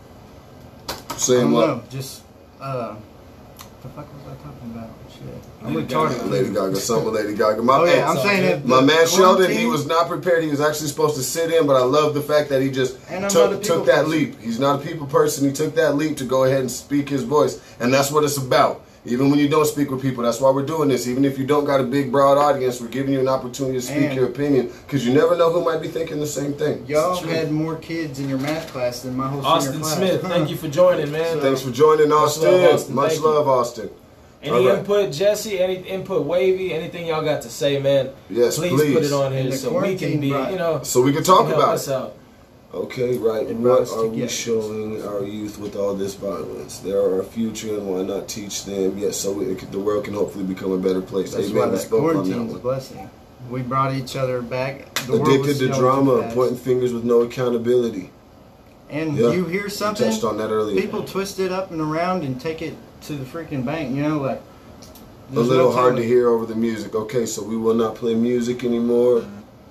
Speaker 2: I
Speaker 1: Saying
Speaker 2: don't
Speaker 1: what?
Speaker 2: know. Just, uh, what the fuck was I talking about? Shit. I'm
Speaker 3: Lady
Speaker 2: retarded.
Speaker 3: Gaga.
Speaker 1: Lady Gaga, something with Lady Gaga. My,
Speaker 2: Oh
Speaker 1: hey,
Speaker 2: yeah, I'm saying it.
Speaker 1: my man Sheldon, he
Speaker 2: quarantine-
Speaker 1: was not prepared. He was actually supposed to sit in, but I love the fact that he just
Speaker 2: And I'm not a
Speaker 1: took,
Speaker 2: people
Speaker 1: took that
Speaker 2: person.
Speaker 1: leap. He's not a people person. He took that leap to go ahead and speak his voice. And that's what it's about. Even when you don't speak with people, that's why we're doing this. Even if you don't got a big, broad audience, we're giving you an opportunity to speak
Speaker 2: And-
Speaker 1: your opinion, because you never know who might be thinking the same thing.
Speaker 2: Y'all
Speaker 3: It's true.
Speaker 2: had more kids in your math class than my whole
Speaker 3: Austin
Speaker 2: senior class.
Speaker 3: Smith, thank you for joining, man.
Speaker 2: So-
Speaker 1: Thanks for joining,
Speaker 3: Much
Speaker 1: Austin.
Speaker 3: love, Austin.
Speaker 1: Much
Speaker 3: Thank you.
Speaker 1: love, Austin.
Speaker 3: Any
Speaker 1: All right.
Speaker 3: input, Jesse? Any input, Wavy? Anything y'all got to say, man?
Speaker 1: Yes,
Speaker 3: please,
Speaker 1: please.
Speaker 3: put it on
Speaker 2: And
Speaker 3: here
Speaker 2: the
Speaker 3: so we can
Speaker 2: quarantine
Speaker 3: be,
Speaker 2: brought-
Speaker 3: you know,
Speaker 1: So we can talk
Speaker 3: help
Speaker 1: about
Speaker 3: us
Speaker 1: it.
Speaker 3: out.
Speaker 1: Okay, right.
Speaker 2: It brought
Speaker 1: What
Speaker 2: us
Speaker 1: are we
Speaker 2: together.
Speaker 1: showing our youth with all this violence? They are our future, and why not teach them? Yes, so we, the world can hopefully become a better place.
Speaker 2: That's
Speaker 1: Amen.
Speaker 2: why
Speaker 1: We
Speaker 2: that
Speaker 1: spoke on that
Speaker 2: quarantine's a
Speaker 1: one.
Speaker 2: blessing. We brought each other back. The world was
Speaker 1: Addicted to
Speaker 2: going too
Speaker 1: drama,
Speaker 2: fast.
Speaker 1: pointing fingers with no accountability.
Speaker 2: And
Speaker 1: Yeah,
Speaker 2: you hear
Speaker 1: We
Speaker 2: something,
Speaker 1: touched on that earlier.
Speaker 2: people twist it up and around and take it to the freaking bank. You know, like
Speaker 1: A
Speaker 2: there's
Speaker 1: little
Speaker 2: no
Speaker 1: hard to
Speaker 2: telling.
Speaker 1: hear over the music. Okay, so we will not play music anymore.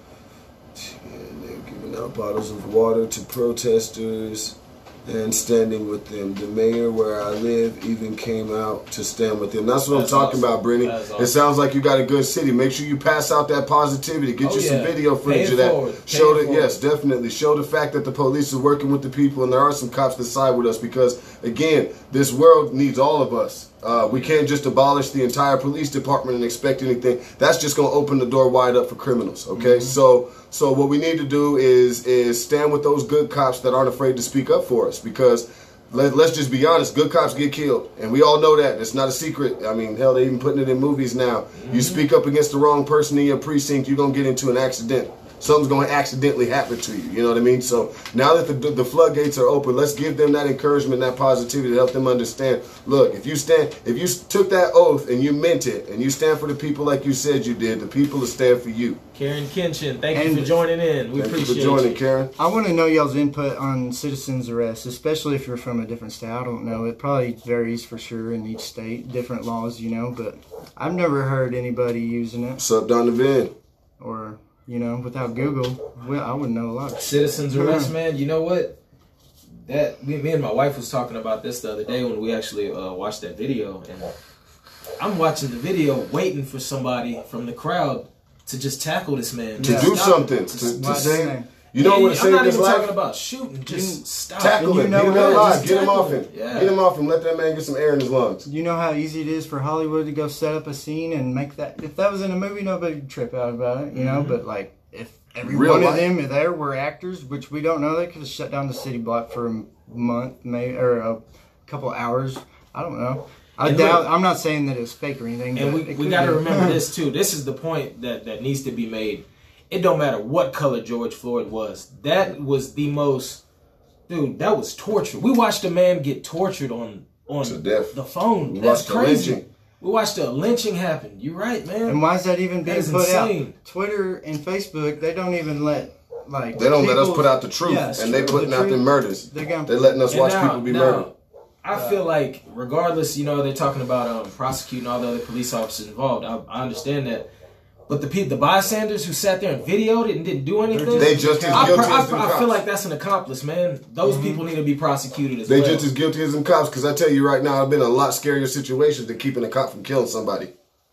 Speaker 1: And they're giving out bottles of water to protesters and standing with them. The mayor where I live even came out to stand with them. That's what
Speaker 3: That's
Speaker 1: I'm talking
Speaker 3: awesome.
Speaker 1: about, Brittany.
Speaker 3: That's
Speaker 1: It
Speaker 3: awesome.
Speaker 1: sounds like you got a good city. Make sure you pass out that positivity. Get
Speaker 3: Oh,
Speaker 1: you some
Speaker 3: yeah.
Speaker 1: video
Speaker 3: Pay
Speaker 1: footage
Speaker 3: it
Speaker 1: of that.
Speaker 3: forward. Pay
Speaker 1: Show
Speaker 3: it
Speaker 1: that,
Speaker 3: forward.
Speaker 1: yes, definitely. Show the fact that the police is working with the people, and there are some cops that side with us because, again, this world needs all of us. Uh, we can't just abolish the entire police department and expect anything. That's just going to open the door wide up for criminals. Okay,
Speaker 3: Mm-hmm.
Speaker 1: so so what we need to do is is stand with those good cops that aren't afraid to speak up for us, because let, let's just be honest, good cops get killed, and we all know that. It's not a secret. I mean, hell, they're even putting it in movies now.
Speaker 3: Mm-hmm.
Speaker 1: You speak up against the wrong person in your precinct, you're gonna get into an accident. something's going to accidentally happen to you. You know what I mean? So now that the, the floodgates are open, let's give them that encouragement, that positivity to help them understand. Look, if you stand, if you took that oath and you meant it, and you stand for the people like you said you did, the people will stand for you.
Speaker 3: Karen Kenshin, thank
Speaker 2: and
Speaker 3: you for joining in. We
Speaker 1: thank
Speaker 3: appreciate
Speaker 1: you for joining,
Speaker 3: you.
Speaker 1: Karen.
Speaker 2: I want to know y'all's input on citizens arrest, especially if you're from a different state. I don't know. It probably varies for sure in each state, different laws, you know, but I've never heard anybody using it.
Speaker 1: What's up, Donovan?
Speaker 2: Or, you know, without Google, well, I wouldn't know a lot.
Speaker 3: Citizens arrest, man. You know what? That me, me and my wife was talking about this the other day when we actually uh, watched that video, and I'm watching the video, waiting for somebody from the crowd to just tackle this man.
Speaker 1: To
Speaker 2: Yeah.
Speaker 1: do
Speaker 3: Stop
Speaker 1: something.
Speaker 3: him.
Speaker 1: To,
Speaker 3: Just
Speaker 1: to
Speaker 2: Why
Speaker 1: say,
Speaker 2: say?
Speaker 1: you know
Speaker 3: Yeah,
Speaker 1: what
Speaker 3: I'm
Speaker 1: saved
Speaker 3: not
Speaker 1: his
Speaker 3: even
Speaker 1: life?
Speaker 3: talking about shooting. Just stop.
Speaker 1: Tackle
Speaker 2: And
Speaker 1: him.
Speaker 2: you know
Speaker 1: Get him
Speaker 2: what?
Speaker 1: alive.
Speaker 3: Just
Speaker 1: Get him
Speaker 3: tackle
Speaker 1: off him.
Speaker 3: him. Yeah.
Speaker 1: Get him off him. Let that man get some air in his lungs.
Speaker 2: You know how easy it is for Hollywood to go set up a scene and make that. If that was in a movie, nobody would trip out about it, you know.
Speaker 3: Mm-hmm.
Speaker 2: But like, if every
Speaker 1: Real
Speaker 2: one
Speaker 1: life.
Speaker 2: of them there were actors, which we don't know, they could have shut down the city block for a month, maybe, or a couple hours. I don't know. I
Speaker 3: And
Speaker 2: doubt.
Speaker 3: look-
Speaker 2: I'm not saying that it's fake or anything.
Speaker 3: And
Speaker 2: but
Speaker 3: we,
Speaker 2: it
Speaker 3: we
Speaker 2: could
Speaker 3: got to
Speaker 2: be.
Speaker 3: remember this too. This is the point that, that needs to be made. It don't matter what color George Floyd was. That was the most, dude. That was torture. We watched a man get tortured on on
Speaker 1: To death.
Speaker 3: the phone.
Speaker 1: We
Speaker 3: That's
Speaker 1: watched a
Speaker 3: crazy.
Speaker 1: lynching.
Speaker 3: We watched a lynching happen. You're right, man.
Speaker 2: And why is that even
Speaker 3: That
Speaker 2: being
Speaker 3: is
Speaker 2: put
Speaker 3: insane.
Speaker 2: out? Twitter and Facebook, they don't even let like.
Speaker 1: They don't let us
Speaker 2: people-
Speaker 1: put out the truth,
Speaker 2: Yeah, it's
Speaker 1: and they
Speaker 2: true.
Speaker 1: putting
Speaker 2: The
Speaker 1: out
Speaker 2: truth-
Speaker 1: them murders.
Speaker 2: They're gonna.
Speaker 1: They letting us
Speaker 3: And
Speaker 1: watch
Speaker 3: now-
Speaker 1: people be
Speaker 3: now,
Speaker 1: murdered.
Speaker 3: I feel like, regardless, you know, they're talking about um, prosecuting all the other police officers involved. I, I understand that. But the people, the bystanders who sat there and videoed it and didn't do anything,
Speaker 1: They just as
Speaker 3: I,
Speaker 1: guilty
Speaker 3: I,
Speaker 1: as them
Speaker 3: I
Speaker 1: cops.
Speaker 3: feel like that's an accomplice, man. Those people need to be prosecuted as
Speaker 1: They
Speaker 3: well.
Speaker 1: just as guilty as them cops. Because I tell you right now, I've been in a lot scarier situations than keeping a cop from killing somebody.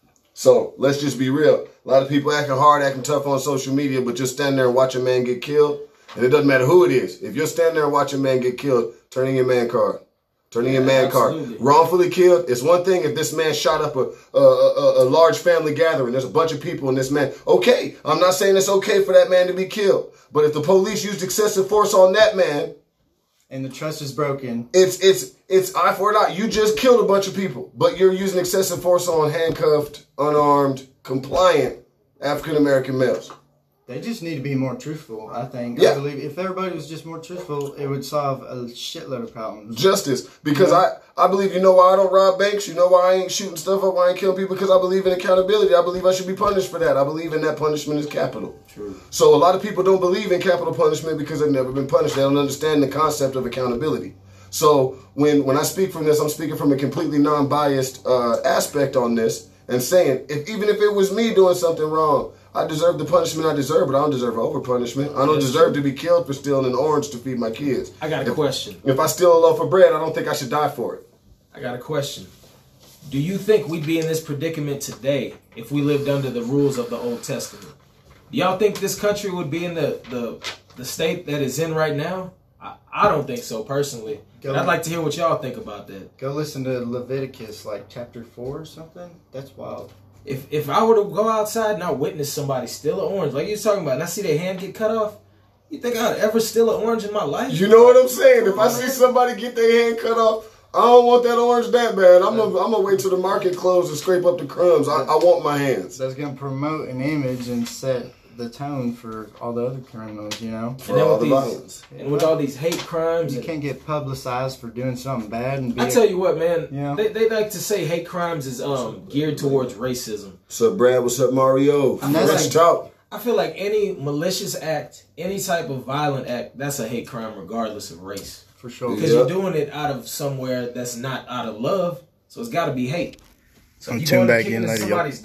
Speaker 1: So let's just be real. A lot of people acting hard, acting tough on social media, but just stand there and watch a man get killed. And it doesn't matter who it is. If you're standing there and watching a man get killed, turn in your man card. Turning your man
Speaker 3: absolutely.
Speaker 1: card. Wrongfully killed. It's one thing if this man shot up a, a, a, a large family gathering. There's a bunch of people and this man. Okay, I'm not saying it's okay for that man to be killed. But if the police used excessive force on that man,
Speaker 2: And the trust is broken.
Speaker 1: it's it's it's eye for an eye. You just killed a bunch of people, but you're using excessive force on handcuffed, unarmed, compliant African American males.
Speaker 2: They just need to be more truthful, I think.
Speaker 1: Yeah.
Speaker 2: I believe if everybody was just more truthful, it would solve a shitload of problems.
Speaker 1: Justice, because I, I believe, you know why I don't rob banks? You know why I ain't shooting stuff up, why I ain't killing people? Because I believe in accountability. I believe I should be punished for that. I believe in that punishment is capital.
Speaker 2: True.
Speaker 1: So a lot of people don't believe in capital punishment because they've never been punished. They don't understand the concept of accountability. So when, when I speak from this, I'm speaking from a completely non-biased uh, aspect on this and saying, if even if it was me doing something wrong, I deserve the punishment I deserve, but I don't deserve over punishment. I don't
Speaker 3: Yes,
Speaker 1: deserve
Speaker 3: true.
Speaker 1: to be killed for stealing an orange to feed my kids.
Speaker 3: I got a
Speaker 1: If-
Speaker 3: question.
Speaker 1: If I steal a loaf of bread, I don't think I should die for it.
Speaker 3: I got a question. Do you think we'd be in this predicament today if we lived under the rules of the Old Testament? Do y'all think this country would be in the, the, the state that it's in right now? I, I don't think so, personally.
Speaker 2: Go
Speaker 3: But I'd
Speaker 2: on.
Speaker 3: like to hear what y'all think about that.
Speaker 2: Go listen to Leviticus, like chapter four or something. That's wild.
Speaker 3: If if I were to go outside and I witness somebody steal an orange, like you was talking about, and I see their hand get cut off, you think I'd ever steal an orange in my life?
Speaker 1: You know what I'm saying? If I see somebody get their hand cut off, I don't want that orange that bad. I'm gonna I'm gonna wait till the market closes and scrape up the crumbs. I, I want my hands.
Speaker 2: That's going to promote an image and set the tone for all the other criminals, you know?
Speaker 1: For
Speaker 3: And then
Speaker 1: all
Speaker 3: with
Speaker 1: the
Speaker 3: these-
Speaker 1: violence.
Speaker 3: And with all these hate crimes,
Speaker 2: You
Speaker 3: and-
Speaker 2: can't get publicized for doing something bad and be
Speaker 3: I
Speaker 2: a-
Speaker 3: tell you what, man,
Speaker 2: Yeah.
Speaker 3: they, they like to say hate crimes is um geared towards racism.
Speaker 1: What's up, Brad? What's up, Mario?
Speaker 2: And that's
Speaker 1: Let's
Speaker 2: like-
Speaker 1: talk.
Speaker 3: I feel like any malicious act, any type of violent act, that's a hate crime regardless of race.
Speaker 2: for sure.
Speaker 3: Because
Speaker 1: Yeah.
Speaker 3: you're doing it out of somewhere that's not out of love, so it's got to be hate. So
Speaker 2: I'm
Speaker 3: if you
Speaker 2: tuned
Speaker 3: going to
Speaker 2: back
Speaker 3: kick
Speaker 2: in
Speaker 3: into
Speaker 2: later, yo.
Speaker 3: somebody's